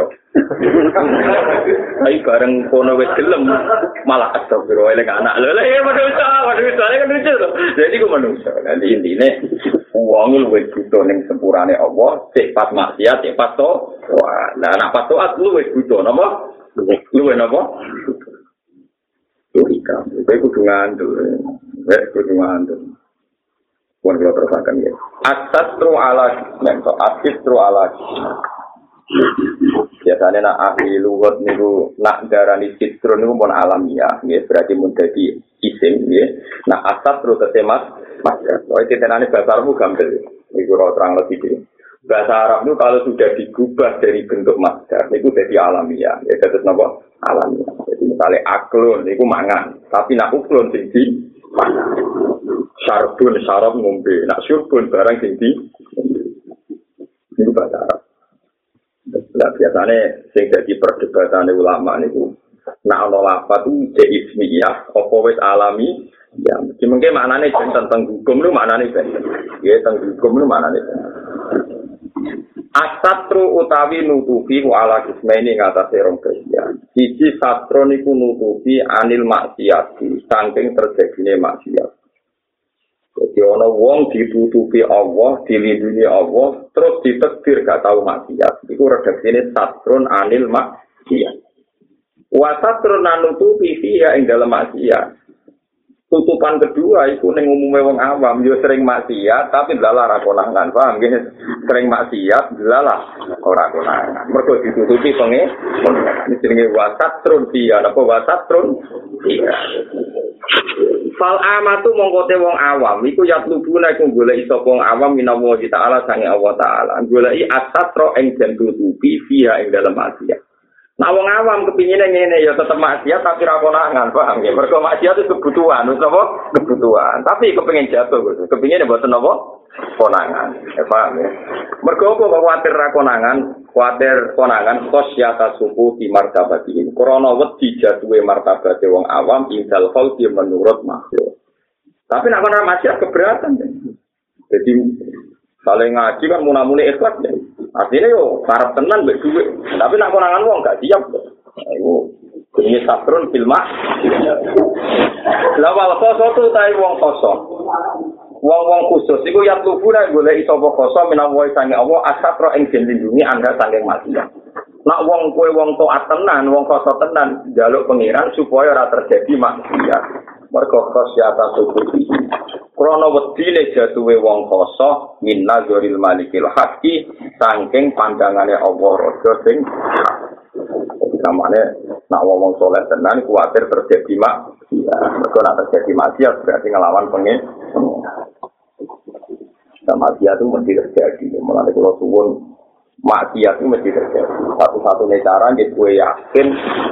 S2: Ai bareng kono wis gelem malah astagfirullah eling anak. Lha ya manusa, manusa kan lucu to. Jadi ku manusa. Nanti intine wong luwih butuh ning sepurane Allah, sik pas maksiat, sik pas to. Wah, lah anak pas taat luwih butuh napa? Luwih napa? Logika. Kowe kudu ngandel. Kowe kudu ngandel. Pun kalau terusakan ya. Asatru ala, mentok asitru ala.
S1: Biasanya nak ahli lugat niku nak darani citrun niku pun alamiah, nggih berarti mun dadi isim nggih. Nak asat terus temas masdar. Soale titenane bahasa Arab gampil. Niku ora terang lebih iki. Bahasa Arab itu kalau sudah digubah dari bentuk masdar niku dadi alamiah. Ya terus napa? Alamiah. Jadi misalnya aklun niku mangan, tapi nak uklun sing di mangan. Syarbun syarab ngombe, nak syurbun barang sing di niku bahasa Arab. Nah, biasanya sing dadi perdebatan ulama niku nak ana lafaz itu ismiyah apa wis alami ya mungkin maknane tentang hukum lu maknane ben ya tentang hukum lu maknane asatru utawi nutupi wa ala kismaini ngatasi rong bagian siji satro niku nutupi anil maksiati saking terjadine maksiat. Jadi ana wong ditutupi Allah, dilindungi Allah, terus ditekdir gak tahu maksiat. Iku redaksine satrun anil maksiat. Wa satrun nutupi fiha ing dalem maksiat. Tutupan kedua iku ning umume wong awam yo sering maksiat tapi dalah ora konangan, paham nggih? Sering maksiat dalah ora konangan. Mergo ditutupi penge. Ini jenenge wa satrun fiha, napa wa satrun fiha. Fal amatu mongkote wong awam iku yatlubuna iku goleki sapa wong awam minawa ta'ala sange Allah taala goleki asatro ing den tutupi via ing dalem maksiat. Nah wong awam kepingine ngene ya tetep maksiat tapi ra konangan, paham ya? Mergo maksiat itu kebutuhan, apa? Kebutuhan. Tapi kepengin jatuh, kepingine mboten apa? Konangan. Ya paham ya? Mergo kok kuwatir ra konangan, kuwatir konangan khosyata suku di martabatin. Krana wedi jatuhe martabate wong awam indal khalqi menurut makhluk. Tapi nek ana maksiat keberatan. Ya. Jadi saling ngaji kan munamune ikhlas ya. Artinya yo karep tenan mbek dhuwit. Tapi nek konangan wong gak siap. Ayo ini sabrun filma. Lawal khosotu tai wong kosong. Wong-wong khusus iku ya lubuna golek sapa kosong menawa sange Allah asatro ing den lindungi anda saking maksiat. Nak wong kowe wong taat tenan, wong kosong tenan njaluk pangeran supaya ora terjadi maksiat. Mergo khosyata subuhi. Krana wedine jatuhe wong kosong min nazaril malikil haqqi saking pandangane Allah raja sing samane nak wong saleh tenan kuwatir terjadi maksiat. Mergo nek terjadi maksiat berarti ngelawan pengen. Nah, maksiat itu mesti terjadi. Mulai kalau suwun maksiat itu mesti terjadi. Satu-satunya cara gue yakin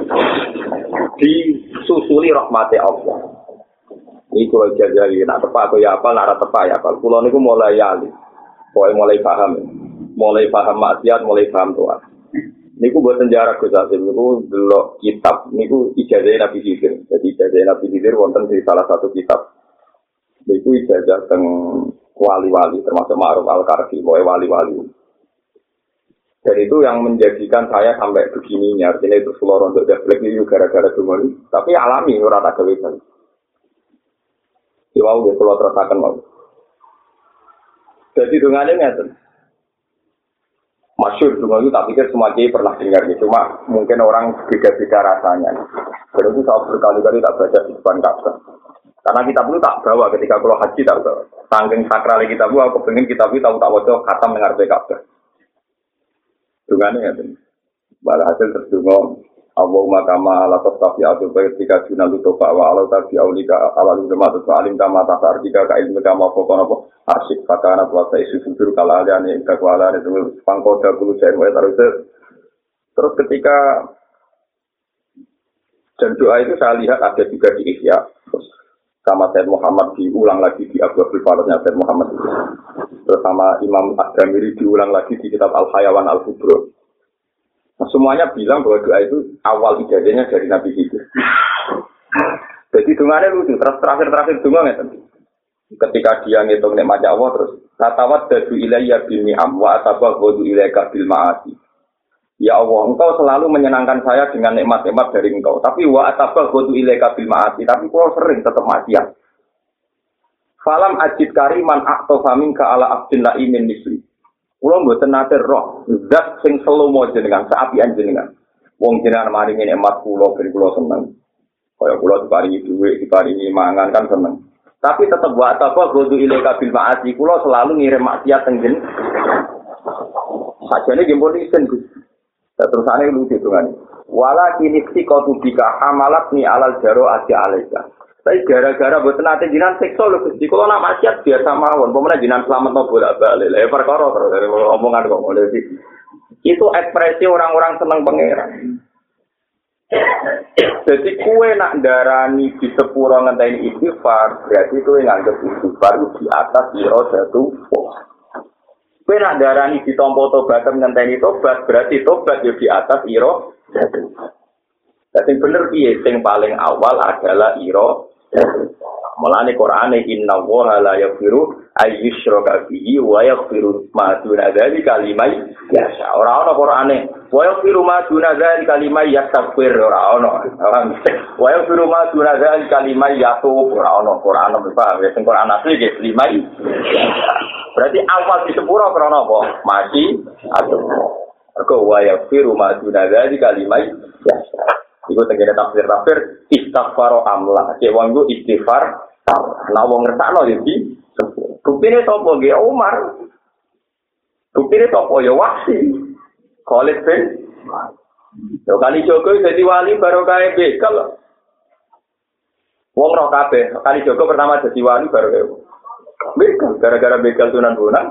S1: disusuli rahmati Allah. Ini kalau jadi nak tepat atau ya apa, nak tepat ya apa. Pulau ini mulai yali, pokoknya mulai paham, mulai paham maksiat, mulai paham Tuhan. Ini gue buat sejarah Gus Hasim. Ini gue delok kitab. Ini gue ijazah Nabi Khidir. Jadi ijazah Nabi Khidir wonten di salah satu kitab. Ini gue ijazah teng wali-wali termasuk Ma'ruf Al-Karfi, wali-wali. Dan itu yang menjadikan saya sampai begininya. Artinya itu seluruh untuk jablek ini gara-gara dumoni. Tapi alami ora tak gawe kan. Iwau dia kalau terasakan mau. Jadi dungannya ngeten. Masyhur dungan itu tak pikir semua kiai pernah dengar gitu. Cuma mungkin orang beda-beda rasanya. Dan itu saya berkali-kali tak baca di depan Ka'bah. Karena kitab itu tak bawa ketika kalau haji tak bawa. Saking sakral kitab itu aku pengen kitab itu tahu tak wajah khatam dengar Ka'bah. Dungannya ngeten. Bala hasil terdungo. Allahumma kama ala tastafi atu baik jika juna lutofa wa ala tabi aulika ala lulemat alim kama tasar jika ka ilmu kama pokona po asyik fakana puasa isu sudur kalaliani kakwalani semua pangkoda bulu saya mulai taruh terus ketika dan doa itu saya lihat ada juga di Ihya terus sama Said Muhammad diulang lagi di Abu Abdul Faradnya Said Muhammad terus sama Imam Ad-Damiri diulang lagi di kitab Al-Hayawan Al-Kubro. Nah, semuanya bilang bahwa doa itu awal ijazahnya dari Nabi Khidir. Jadi dungannya lucu, terus terakhir-terakhir dungan ya. Ketika dia ngitung nikmatnya Allah terus tatawat dadu ilayya bil ni'am wa atabaghu ilayka bil ma'asi. Ya Allah, engkau selalu menyenangkan saya dengan nikmat-nikmat dari engkau. Tapi wa atabaghu ilayka bil ma'asi, tapi kau sering tetap maksiat. Falam ajid kariman aqtafa minka ala abdin la'imin misli. Kulo mboten nate roh, zat sing selomo jenengan, saapian jenengan. Wong jenengan maringi nikmat kulo ben kulo seneng. Kaya kulo diparingi dhuwit, diparingi mangan kan seneng. Tapi tetep wa apa kudu ilaika bil ma'asi, kulo selalu ngirim maksiat teng jenengan. Sajane nggih pun isen Gus. Terusane lucu hitungan. Wala kini istiqatu bika hamalatni alal jaro aja alaika. Tapi gara-gara boten ate jinan sekso lho Gusti. Kula nak maksiat biasa mawon. Pemene jinan slametno bolak-balik. Lah perkara terus dari omongan kok mulai sih. Itu ekspresi orang-orang seneng pangeran. Jadi kue nak darani di sepuro ngenteni istighfar, berarti kue nganggep istighfar di atas iro jatuh. Kue nak darani di tompo tobat ngenteni tobat, berarti tobat yo di atas iro jatuh. Jadi bener piye sing paling awal adalah iro jatuh. Mulane Qur'ane inna wa la yaghfiru ayyushraka bihi wa yaghfiru ma duna dzalika liman yasha. Ora ana Qur'ane wa yaghfiru ma duna dzalika liman yastaghfir ora ana. Wa yaghfiru ma duna dzalika liman yatub ora ana Qur'ane paham ya sing Qur'an asli ge liman. Berarti awal di sepuro krana apa? Mati atau Mergo wa yaghfiru ma duna dzalika liman yasha. Iku tengene tafsir-tafsir istighfar amla. Cek wong iku istighfar. Nah wong ngertakno ya iki. Buktine sapa nggih Umar. Buktine sapa ya Wahsi. Khalid bin Yo kali Joko dadi wali baru kae bekal. Wong roh kabeh, kali Joko pertama dadi wali baru kae. Bekal gara-gara bekal Sunan Bonang.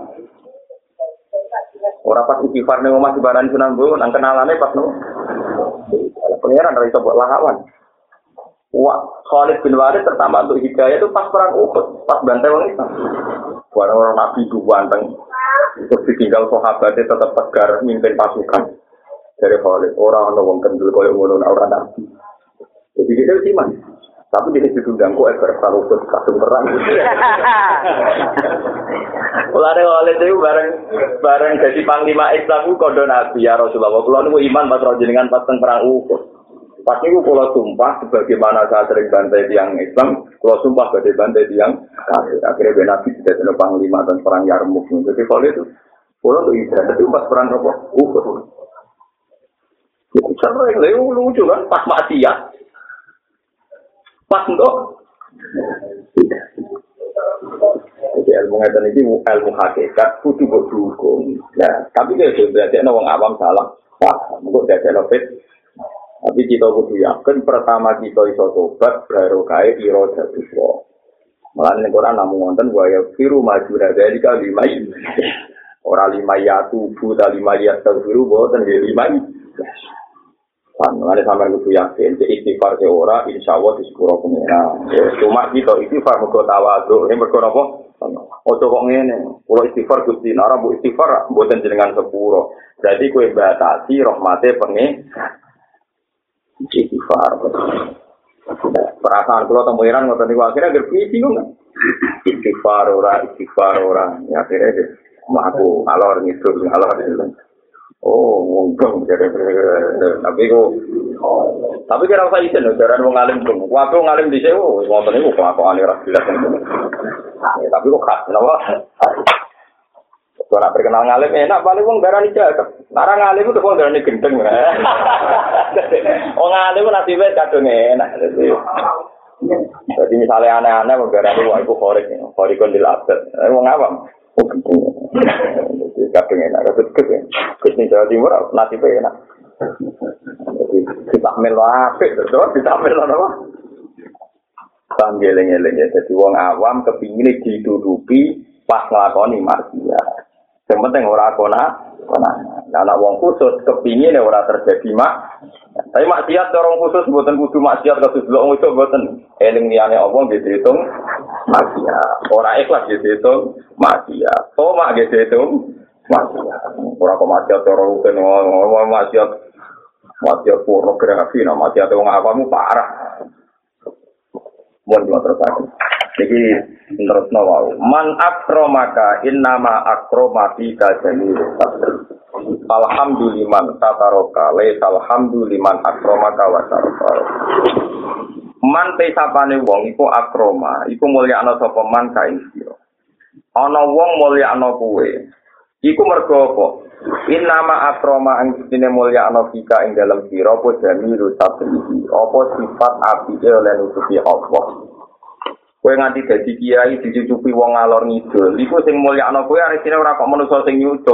S1: Ora pas istighfar ning omah dibarani Sunan Bonang kenalane pas no. Pengiran dari sebuah lawan. Wah, Khalid bin Walid pertama untuk hidayah itu pas perang Uhud, pas bantai orang Islam. Orang-orang Nabi itu banteng, terus ditinggal sahabatnya tetap tegar mimpin pasukan dari Khalid. Orang orang kendul koyo ngono orang Nabi. Jadi dia itu iman. Tapi dia itu diundang kok eker perang Uhud kasih perang. Mulane Khalid itu bareng bareng jadi panglima Islam ku kondo Nabi ya Rasulullah. Kula niku iman pas jenengan pas teng perang Uhud. Pas niku kula sumpah sebagaimana saya sering bantai tiang Islam, kula sumpah badhe bantai tiang kafir. Akhirnya ben Nabi dadi panglima dan perang Yarmuk. Jadi kalau itu kula tuh ibadah itu pas perang apa? Uhud. Itu sering lho lucu kan pas maksiat. Pas enggak. Jadi ilmu ngeten iki ilmu hakikat kudu berdukung. Nah, tapi kalau berarti ana wong awam salah. Wah, engko dadekno fit. Tapi kita kudu yakin pertama kita iso tobat baru kae ira jatuh. Malah ning Quran namung wonten wa yafiru majura dalika limai. Ora limai atu bu ta limai yafiru boten nggih limai. Kan malah sampeyan kudu yakin cek istighfar ke ora insyaallah di sepuro pengira. Cuma kita istighfar mergo tawadhu, nek mergo napa? Ojo kok ngene. Kula istighfar Gusti, ora mbok istighfar mboten jenengan sepuro. Jadi kowe batasi rahmate pengen istighfar. Perasaan kula temu Iran ngoten niku akhire agar bingung. Istighfar ora, istighfar ora. Ya akhire aku alor ngidul alor. Oh, ngomong jadi tapi kok tapi kira usah isin lho jaran wong alim dong. Waktu ngalim di sewu wonten niku kok aku alih ra jelas. Tapi kok khas napa? Ora perkenal ngalim enak paling wong darani jaket. Lara ngalim itu wong darani gendeng. Wong ngalim nasibe kadung enak. Jadi misalnya aneh-aneh wong darani wah iku korek, korek kondil abad. Wong awam. Oh gendeng. Jadi kadung enak, ketek. Kus ning Jawa Timur nasibe enak. Jadi ditakmil apik terus ditakmil apa? Panggeleng-eleng ya. Jadi wong awam kepingin ditutupi pas nglakoni maksiat. Yang penting ora kona, kona. Nah, anak wong khusus kepingin ora terjadi mak. Tapi maksiat orang khusus mboten kudu maksiat kados blok itu mboten. Eling liyane apa nggih diitung maksiat. Ora ikhlas nggih diitung maksiat. Tomak nggih diitung maksiat. Ora kok maksiat ora rukun ngomong maksiat. Maksiat pornografi, nah maksiat wong awamu parah. Mun terus aku. Jadi terus nawau. Man akromaka innama akromati kajani. Alhamdulillah tataroka le alhamdulillah akromaka wa taroka. Man te sapane wong iku akroma, iku mulyakno sapa man kae sira. Ana wong mulyakno kuwe. Iku mergo apa? Innama akroma angkine mulyakno fika ing dalem sira apa jamiru sabri. Apa sifat apike oleh nutupi Allah. Kowe nganti dadi kiai dicucupi wong ngalor ngidul. Iku sing mulyakno kowe arisine ora kok manusa sing nyucup.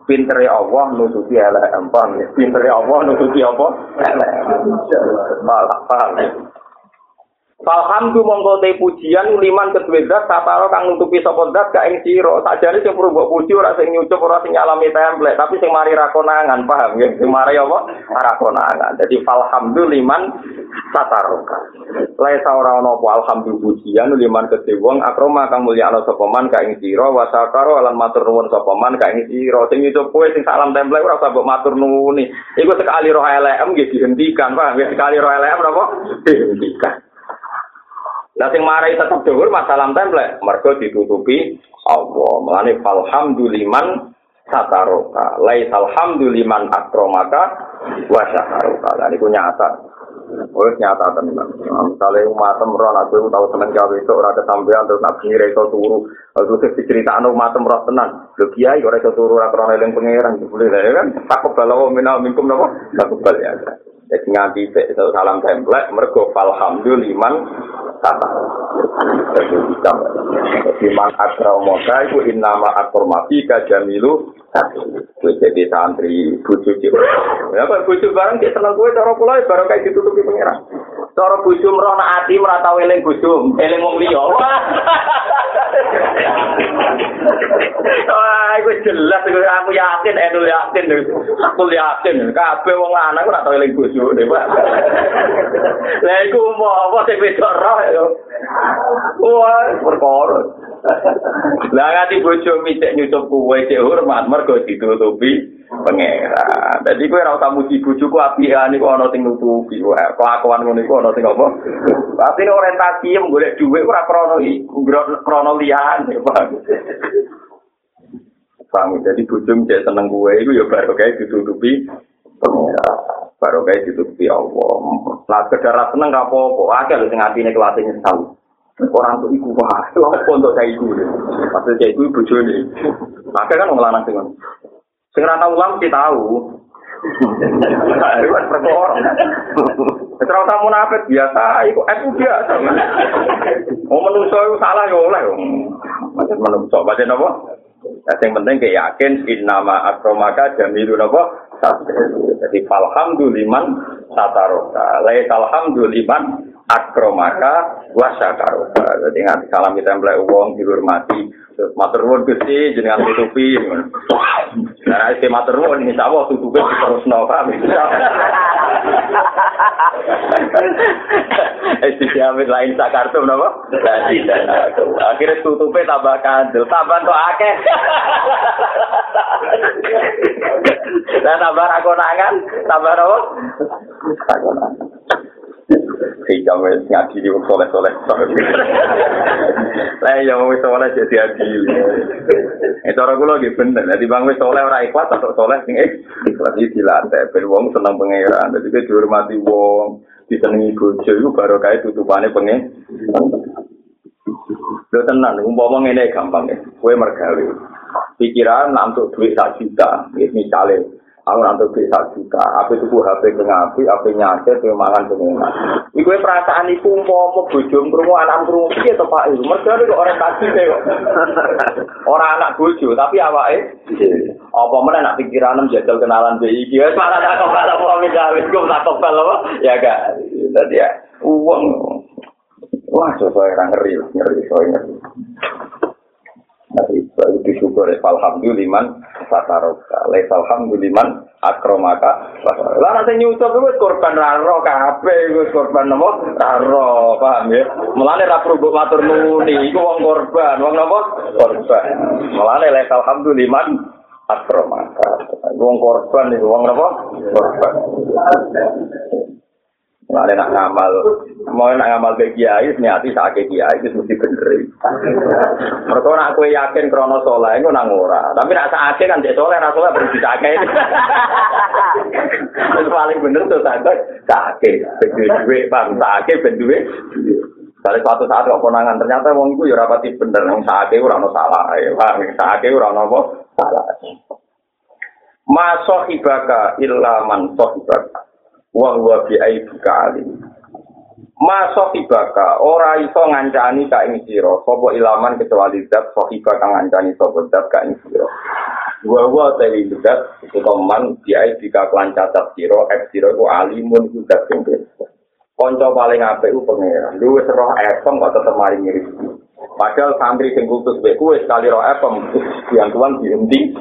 S1: Pintere Allah nutupi elek empang, pintere Allah nutupi apa? Elek. Malah paham. Alhamdulillah monggo te pujian liman kedue zat sataro kang nutupi sapa zat gak ing sira. Sajane sing perlu mbok puji ora sing nyucup ora sing nyalami templek, tapi sing mari ra konangan, paham ya? Sing mari apa? Ra konangan. Dadi alhamdulillah liman sataro. Laisa ora ana apa alhamdulillah pujian liman kedue wong akroma kang mulya ana sapa man gak ing sira wa sakaro lan matur nuwun sapa man gak ing sira. Sing nyucup kowe sing salam templek ora usah mbok matur nuwuni. Iku sekali roh L M nggih dihentikan, paham ya? Sekali roh L M napa? Dihentikan. Lah sing marai tetep dhuwur masalah templek mergo ditutupi Allah. Mulane alhamduliman sataroka. Laisal hamduliman akromaka wa sataroka. Lah niku nyata. Oh nyata tenan. Misale umatem ora aku tau temen gawe itu ora kesampean terus nabi reso turu. Terus diceritakno umatem ora tenan. Lho kiai ora iso turu ora krana eling pangeran boleh lah ya kan. Takut balawa minal minkum napa? Takut bal ya. Jadi nganti salam templek mergo alhamduliman kata Iman akramoka itu innama akromafika jamilu jadi santri bucu cipu ya Pak bucu barang dia seneng gue cara pulai baru kayak ditutupi pengeran cara bucu merona hati merata eling bucu eling wong liya wah itu jelas aku yakin edul yakin aku yakin kabeh wong lanang ora tau eling bucu Pak lha iku mau apa sing wedok roh wah perkara lah ngati bojo micek nyucup kuwe cek hormat mergo ditutupi pangeran. Dadi kowe ora usah muji bojoku apian iku ana sing nutupi wae. Kelakuan ngono iku ana sing apa? Artine orientasi golek dhuwit ora krana iku, krana liyane, Pak. Paham, jadi bojo micek seneng kuwe iku ya baru kae ditutupi pangeran. Baru kae ditutupi Allah. Lah sekedar seneng gak apa-apa, akeh lho sing atine kelase nyesal. Orang tuh iku wah, apa untuk saya iku. Maksud saya iku bojone. Maka kan wong lanang sing ngono. Sing ora tau ulang mesti tahu. Itu kan perkara. Terus tamu munafik biasa, iku aku biasa. Oh menungso iku salah ya oleh. Macam menungso, macam apa? Yang penting kayak yakin innama akromaka jamilun apa? Jadi alhamduliman sataroka. Laisa alhamduliman akromaka wasyakaroka. Jadi nganti salam kita templek wong dihormati. Terus matur nuwun Gusti jenengan tutupi. Nah, iki matur nuwun insyaallah tutupe terusno paham. Eh siamit lain sakartum napa? Dadi akhirnya tutupe tambah kandel, tambah tok akeh. Lah tambah konangan, tambah napa? Konangan. Sehingga wis ngaji di soleh-soleh. Lah ya wis soleh jadi adil. Eh cara kula nggih bener. Dadi bang wis soleh ora ikhlas atau soleh sing ikhlas iki dilatih ben wong seneng pangeran. Dadi ki dihormati wong, disenengi bojo iku baru kae tutupane pengen. Lho tenan umpama ngene gampang ya. Kowe mergawe. Pikiran untuk duit sak juta, misale aku nanti bisa juta, aku tuku H P kengapi, H P nyatet, mangan pengenak. Iku perasaan iku umpama bojo krungu anak krungu piye to Pak? Mergo kok orientasi kok. Ora anak bojo, tapi awake apa meneh nak pikiran jajal kenalan B I iki wis malah tak kepala apa misalnya iku tak kepala apa ya gak. Dadi ya uang. Wah, coba ora ngeri, ngeri soalnya ngeri. Nah, itu disyukur alhamduliman sataroka. Laisa alhamduliman akromaka. Lah nek nyucup wis korban raro kabeh, wis korban napa? Raro, paham ya? Mulane ra perlu matur nuwuni, iku wong korban, wong napa? Korban. Mulane laisa alhamduliman akromaka. Wong korban iku wong napa? Korban. Mulane nak ngamal, mau nak ngamal ke kiai, niati sakit kiai itu mesti bener. Mereka nak kue yakin krono soleh, itu nang ora. Tapi nak sakit kan cek soleh, nak soleh baru disakit. Itu paling bener tuh sakit, sakit. Berdua, bang sakit, berdua. Kalau suatu saat kok konangan ternyata wong iku ya rapati bener, wong sakit ora ono salah, paham? Sakit ora ono apa? Salah. Ma sahibaka illa man sahibaka. Wa huwa bi aibika alim. Masuk ibaka ora iso ngancani ka ing sira sapa ilaman kecuali zat sahibaka ngancani sapa zat ka ing sira. Gua-gua tadi juga itu teman dia jika kelan cacat siro, F siro itu alimun itu dat sing konco paling apik ku pangeran. Lu wis roh efem kok tetep mari ngiris. Padahal santri sing kultus mbek kuwi sekali roh efem yang tuan dihenti.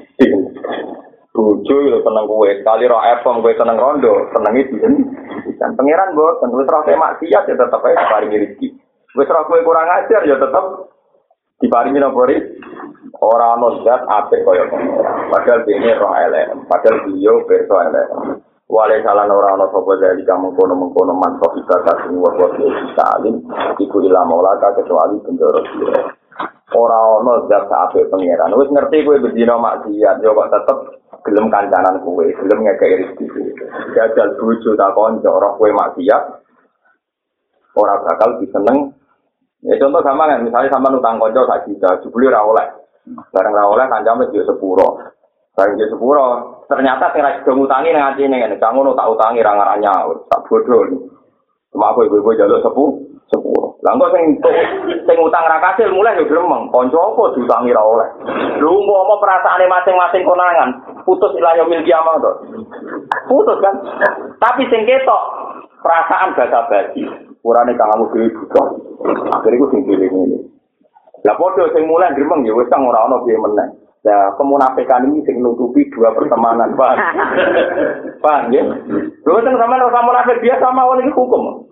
S1: Bojo yo seneng kowe, sekali roh efem kowe seneng rondo, senengi dihenti. Dan pangeran mboten wis roh maksiat ya tetep ae paringi rezeki. Wis roh kowe kurang ajar ya tetep diparingi napa rezeki. Ora ono zat apik kaya ngono. Padahal dene roh elek, padahal beliau perso elek. Wale salan ora ono sapa dari kamu kono-kono manso ibadah sing wae salim iku ila maulaka kecuali penjara sira. Ora ono zat apik pangeran. Wis ngerti kowe bendina maksiat yo kok tetep gelem kancanan kowe, gelem ngekeki rezeki. Jajal bojo ta kanca roh kowe maksiat ora bakal diseneng. Ya contoh gampang kan, misalnya sampean utang kanca sak juta, jebule ora oleh. Barang ra oleh kancame dia sepuro. Barang dia sepuro, ternyata sing ra gedhe ngutangi nang atine ngene, "Kang ngono tak utangi ra ngaranya, tak bodho." Cuma aku ibu-ibu jaluk sepu, sepuro. Lah kok sing sing utang ra kasil mulai yo gremeng, kanca apa diutangi ra oleh. Lho umpama perasaane masing-masing konangan, putus ila yaumil kiamah to. Putus kan? Tapi sing ketok perasaan basa-basi. Urane kamu dhewe butuh. Akhire ku sing dhewe ngene. Lah padha sing mulai gremeng ya wis kang ora ana piye meneh. Lah kemunafikan ini sing nutupi dua pertemanan, Pak. Paham ya? Lho sing sampean ora munafik biasa mawon iki hukum.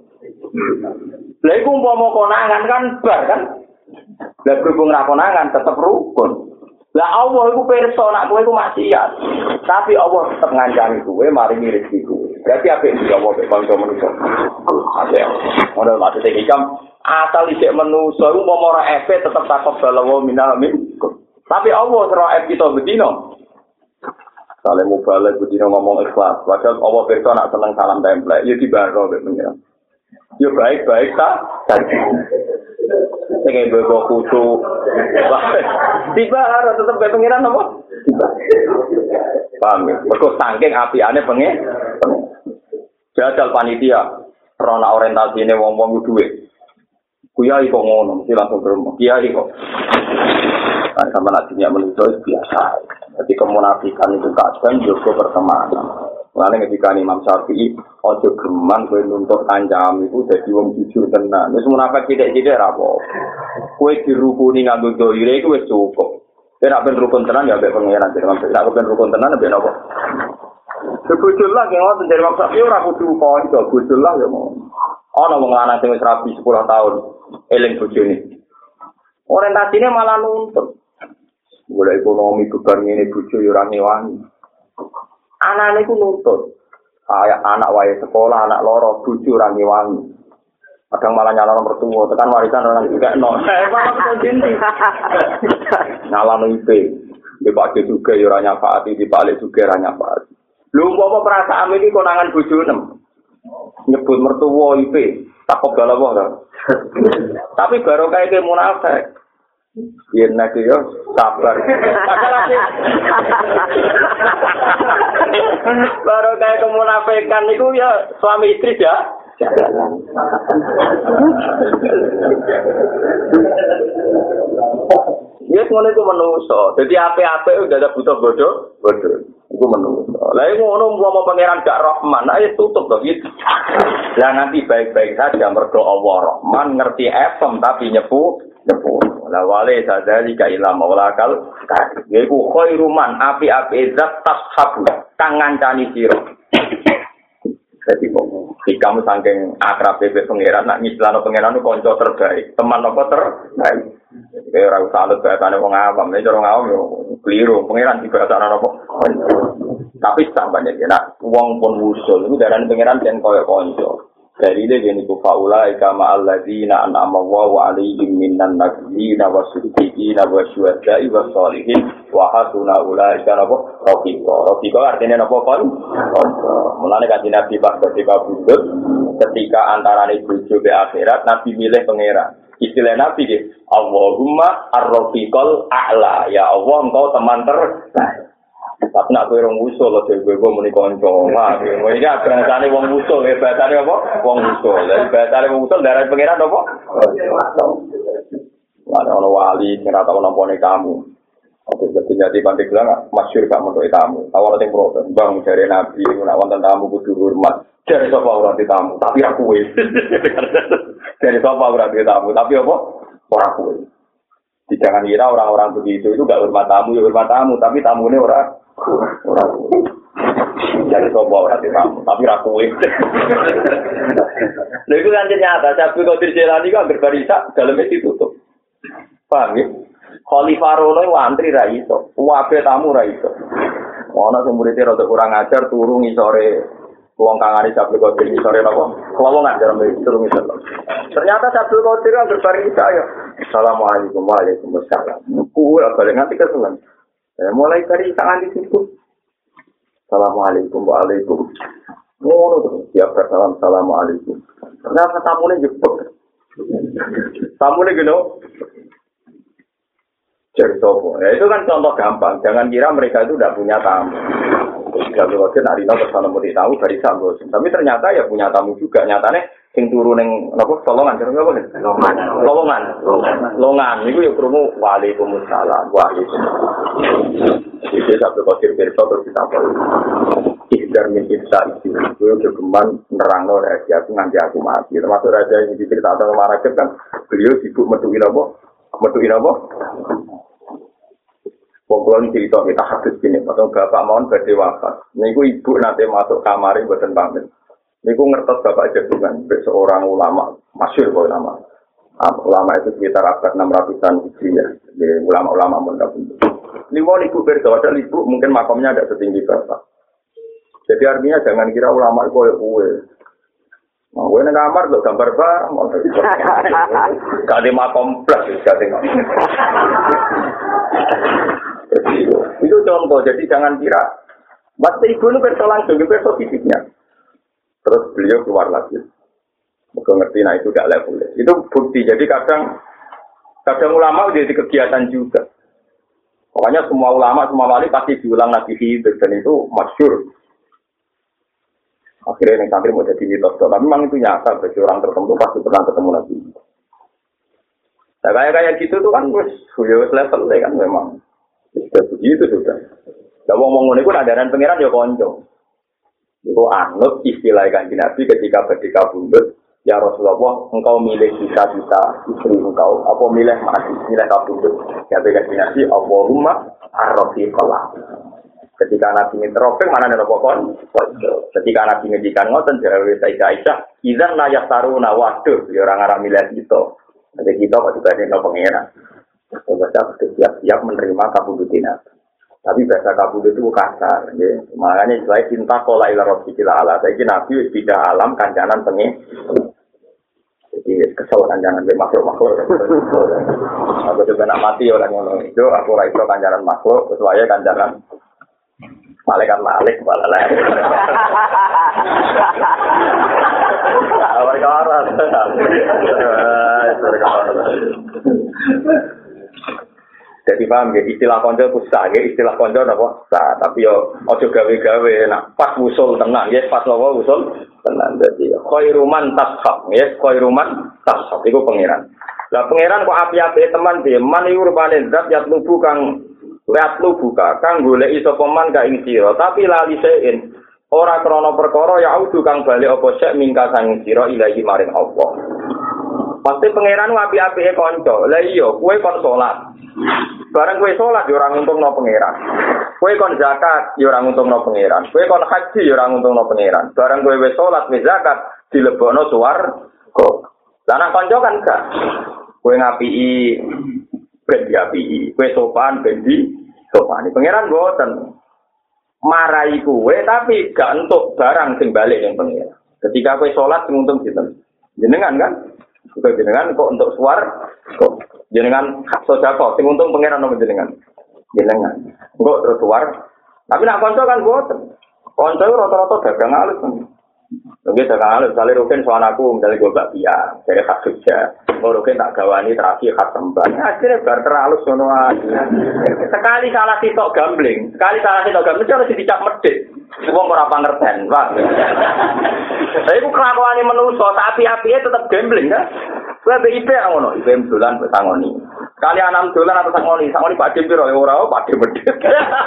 S1: Lah iku umpama konangan kan bar kan. Lah berhubung ra konangan tetep rukun. Lah Allah iku pirsa nek kowe iku maksiat. Tapi Allah tetep ngancani kowe maringi rezeki kowe. Berarti apik iki Allah mek kanca manusa. Ada. Ora maksud iki kam asal isik manusa iku umpama ora efek tetep takok balawa minal min. Tapi Allah ora efek kita bedino. Saling mubalek bedino ngomong ikhlas. Padahal Allah pirsa nek seneng salam templek ya dibaro mek pengiran. Ya baik-baik ta. Sing mbok kutu. Tiba harus tetep mek pengiran apa? Tiba. Paham ya? Mergo saking apiane pengen. Jajal panitia, rona orientasi ini wong-wong duwe. Kiai kok ngono, mesti langsung berumur. Kiai kok. Nah, sama nasinya menuntut biasa. Jadi kemunafikan itu kadang juga pertemanan. Lalu ketika Imam Syafi'i, ojo geman kowe nuntut kancam itu jadi wong jujur tenan. Wis munafik sithik-sithik ra apa. Kowe dirukuni nganggo doire iku wis cukup. Nek ben rukun tenan ya mbek pangeran. Nek ben rukun tenan mbek napa? Sebujul lah yang ngoten dari Imam Syafi'i ora kudu kanca, bujul lah ya mau. Ana wong lanang sing wis rabi sepuluh tahun eling bojone. Orientasine malah nuntut. Golek ekonomi bebar ngene bojo ya ora ngewangi. Anane ku nuntut. Kayak anak wae sekolah, anak loro, bojo ora ngewangi. Kadang malah nyalon mertua, tekan warisan orang juga no. Eh, malah terjadi. Nyalon I P, di Pak juga ya ora nyafaati, di balik juga ora nyafaati. Lho apa perasaan iki konangan bojone. Nyebut mertua I P, tak kok galawah ta. Tapi baru kayak ke munafik. Yen nek yo sabar. Baru kayak kemunafikan niku ya suami istri ya. Ya ngono iku menungso. Dadi ape-ape udah ada butuh bodoh, bodoh. Iku menungso. Lah iku ngono umpama pangeran gak Rahman, ayo tutup to gitu. Lah nanti baik-baik saja mergo Allah Rahman ngerti efem tapi nyepu, nyepu. Lah wale sadali ka ila maulakal. Iku khairu man api-api zat tashabu kang ngancani sira. Jadi kok kamu saking akrab bebek pangeran nak ngislano pangeran itu konco terbaik, teman apa terbaik. Kayak ora usah anut bahasane wong awam, nek cara awam yo keliru, pangeran dibahasane apa. Tapi sampeyan ya nak wong pun usul iku darane pangeran yen koyo konco. Dari dia jadi kufaula ikama alladzina an'ama Allahu 'alaihim minan nabiyina wasiddiqina wasyuhada'i wassalihin wa hasuna ulaika rafiqa. Rafiqa artinya apa kon? Mulane kanjeng Nabi pas ketika bundut ketika antarane bojo be akhirat Nabi milih pangeran. Istilah Nabi nggih, Allahumma ar-rafiqal a'la. Ya Allah engkau teman terbaik. Tapi nak kowe wong usul lho dhewe kowe muni kanca. Wah, iki bahasane wong usul, ya bahasane apa? Wong usul. Lah bahasane wong usul darah pangeran apa? Wah, ono wali sing ora tau nampane kamu. Oke, jadi jadi pandai bilang masyhur gak menurut tamu. Awalnya yang protes, bang dari nabi, nak wonten tamu kudu hormat. Dari sofa orang di tamu, tapi aku wis. Dari sofa orang di tamu, tapi apa? Orang aku wis. Jangan kira orang-orang begitu itu gak hormat tamu, ya hormat tamu, tapi tamunya orang orang aku. Dari sofa orang di tamu, tapi aku wis. Lalu itu kan ternyata, Syekh Qadir Jailani kan berbarisak dalamnya ditutup. Paham ya? Khalifah Rono wantri ra iso, wabe tamu ra iso. Ono sing muridé rada kurang ajar turu ngisore wong kangane Syekh Qadir ngisore napa? Kelowongan dalam turu ngisor. Ternyata Syekh Qadir kan berbari saya. Assalamualaikum waalaikumsalam. Kuwi balik nganti kesuwen. Eh, mulai dari tangan di situ. Assalamualaikum waalaikum. Ngono terus siap salam assalamualaikum. Ternyata tamune jebok. Tamune geno jadi sopo. Ya itu kan contoh gampang. Jangan kira mereka itu tidak punya tamu. Jadi kalau kita hari ini bersama murid tamu dari sambos. Tapi ternyata ya punya tamu juga. Nyatanya sing turu neng apa solongan cara apa nih? Longan. Longan. Longan. Itu ya kerumuh waalaikumsalam. Waalaikumsalam. Jadi satu kosir berso terus kita apa? Ikhtar min ikhtar itu. Itu kegeman nerang no rahasia aku nanti aku mati. Termasuk raja yang diceritakan sama Rakib kan. Beliau sibuk metuin apa? Metuin apa? Pokoknya cerita kita hadis gini, atau bapak mohon badhe wafat. Niku ibu nanti masuk kamar mboten pamit. Niku ngertos bapak jagungan, seorang ulama, masyhur ulama. Ulama itu sekitar abad enam ratusan Hijriah. Jadi ulama-ulama mondok. Liwon ibu berdoa, ibu mungkin makamnya tidak setinggi bapak. Jadi artinya jangan kira ulama itu koyo kowe. Nah, gue neng kamar tuh gambar barang, mau terus. Gak ada makom plus, gak tengok. Itu, itu contoh. Jadi jangan kira. Waktu ibu itu perso langsung, itu perso fisiknya. Terus beliau keluar lagi. Gue ngerti, nah itu gak level. Itu bukti. Jadi kadang, kadang ulama udah jadi kegiatan juga. Pokoknya semua ulama, semua wali pasti diulang lagi hidup dan itu masyhur. Akhirnya yang santri mau jadi mitos, tapi memang itu nyata bagi orang tertentu pasti pernah ketemu lagi. Nah kayak kayak gitu tuh kan wes, wes level kan memang sudah begitu sudah. Gak mau ngomong ini pun adaran pangeran ya konco. Itu anut istilah Kanjeng Nabi ketika ketika bundut, ya Rasulullah, engkau milih kita kita istri engkau, apa milih mati, milih kabundut. Ya Kanjeng Nabi, Allahumma arrofiqallah. Ketika Nabi nginterofek, mana ada pokok? Ketika Nabi ngejikan ngoten, jawab Sayyidah Aisyah, izan layak taruna, waduh, ya orang arah milih kita. Jadi kita kok juga ada pengeran. Kita siap-siap menerima kabudutina. Tapi bahasa kabudut itu kasar. Ya. Makanya selain cinta kola ila robbikila ala. Saya kira Nabi tidak alam kancanan pengen. Jadi kesel kancanan be makhluk-makhluk. Aku juga nak mati orang ngono itu. Aku ra iso kancanan makhluk, kesuai kancanan malaikat malik malah lah. Awal kawaran. Jadi paham ya, istilah konco itu sah ya, istilah konco apa? Sah, tapi yo ojo gawe-gawe, nak pas usul tenang ya, pas lawa usul tenang. Jadi khairuman tashab ya, khairuman tashab itu pangeran. Lah pangeran kok api-api teman dia, man iku rupane zat yat lubu kang lihat lubu kang goleki sapa man ka ing sira, tapi lali sein ora krana perkara ya audu kang bali apa sek mingka sang sira ilahi maring Allah. Pasti pangeran api-api kanca. Lah iya, kowe kon salat. Barang kowe salat ya ora nguntungno pangeran. Kowe kon zakat ya ora nguntungno pangeran. Kowe kon haji ya ora nguntungno pangeran. Barang kowe wis salat wis zakat dilebokno swarga. Lah nek kanca kan gak. Kowe ngapiki ben diapiki. Kowe sopan ben di sopan. Pangeran mboten marai kowe tapi gak entuk barang sing balik ning pangeran. Ketika kowe salat sing untung sinten? Jenengan kan? Juga jenengan kok untuk suar, kok jenengan hak sodako, sing untung pangeran nomor jenengan, jenengan, kok terus suar. Tapi nak konco kan boten, konco rata-rata dagang halus kan, mungkin dagang halus. Kali rugen soal aku misalnya gue bakpia, dari hak Jogja, kalau rugen tak gawani terakhir hak Sembah, akhirnya bar terhalus sono aja. Sekali salah sitok gambling, sekali salah sitok gambling, harus dicap medit. Wong ora pangerten, Pak. Saya ku kelakuane manusa, api-apike tetep gambling kan. Kowe B I P ngono, I P M dolan mbok sangoni. Kali anam dolan atau sak ngoni, sak ngoni Pak Dim piro ora Pak Dim medhit.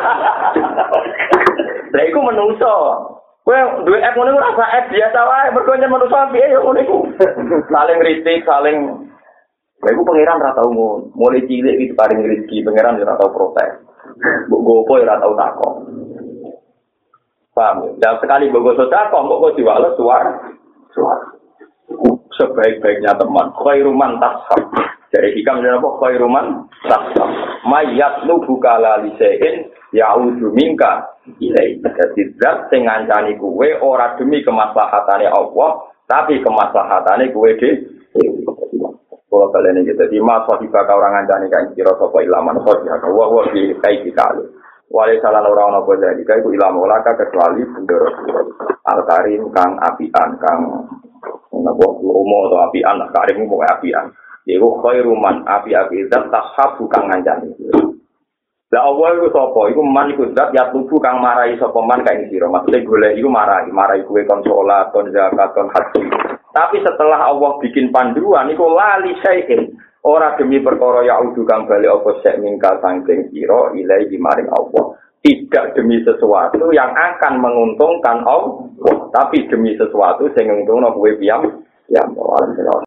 S1: Lah iku menungso. Kowe duwe app ngono ora sak app biasa wae, mergo nyen menungso piye ya ngono iku. Saling kritik, saling Lah iku pangeran ra tau ngono. Mulai cilik iki paring rezeki, pangeran ora tau protes. Mbok gopo ora tau takon. Paham? Dan sekali mbok sedekah kok kok diwales suar. Suar. Sebaik-baiknya teman, khairuman tashab. Jadi hikam dan apa khairuman tashab. Mayat nubu kala lisein ya'udhu minka ilai. Jadi zat sing ngancani kowe ora demi kemaslahatane Allah, tapi kemaslahatane kowe dhewe. Kalau kalian ini jadi mas wajibah orang ngancani kain kira sapa ilaman khotbah wa wa fi kaiti kali. Wale salah orang ana boleh jika iku ilmu laka kecuali bendoro al-karim kang apian kang napa umo atau apian karim mau apian. Iku khairuman api-api zat tashabu kang ngancani. Lah Allah iku sapa? Iku man iku zat ya tubuh kang marai sapa man kain sira. Maksude golek iku marai, marai kuwe kon salat, kon zakat, kon haji. Tapi setelah Allah bikin panduan iku lali syai'in ora demi perkara yaudu kang bali apa sek mingkal sangking sira ilahi maring Allah. Tidak demi sesuatu yang akan menguntungkan Allah, tapi demi sesuatu sing nguntungno kowe piyam. Ya, Allah.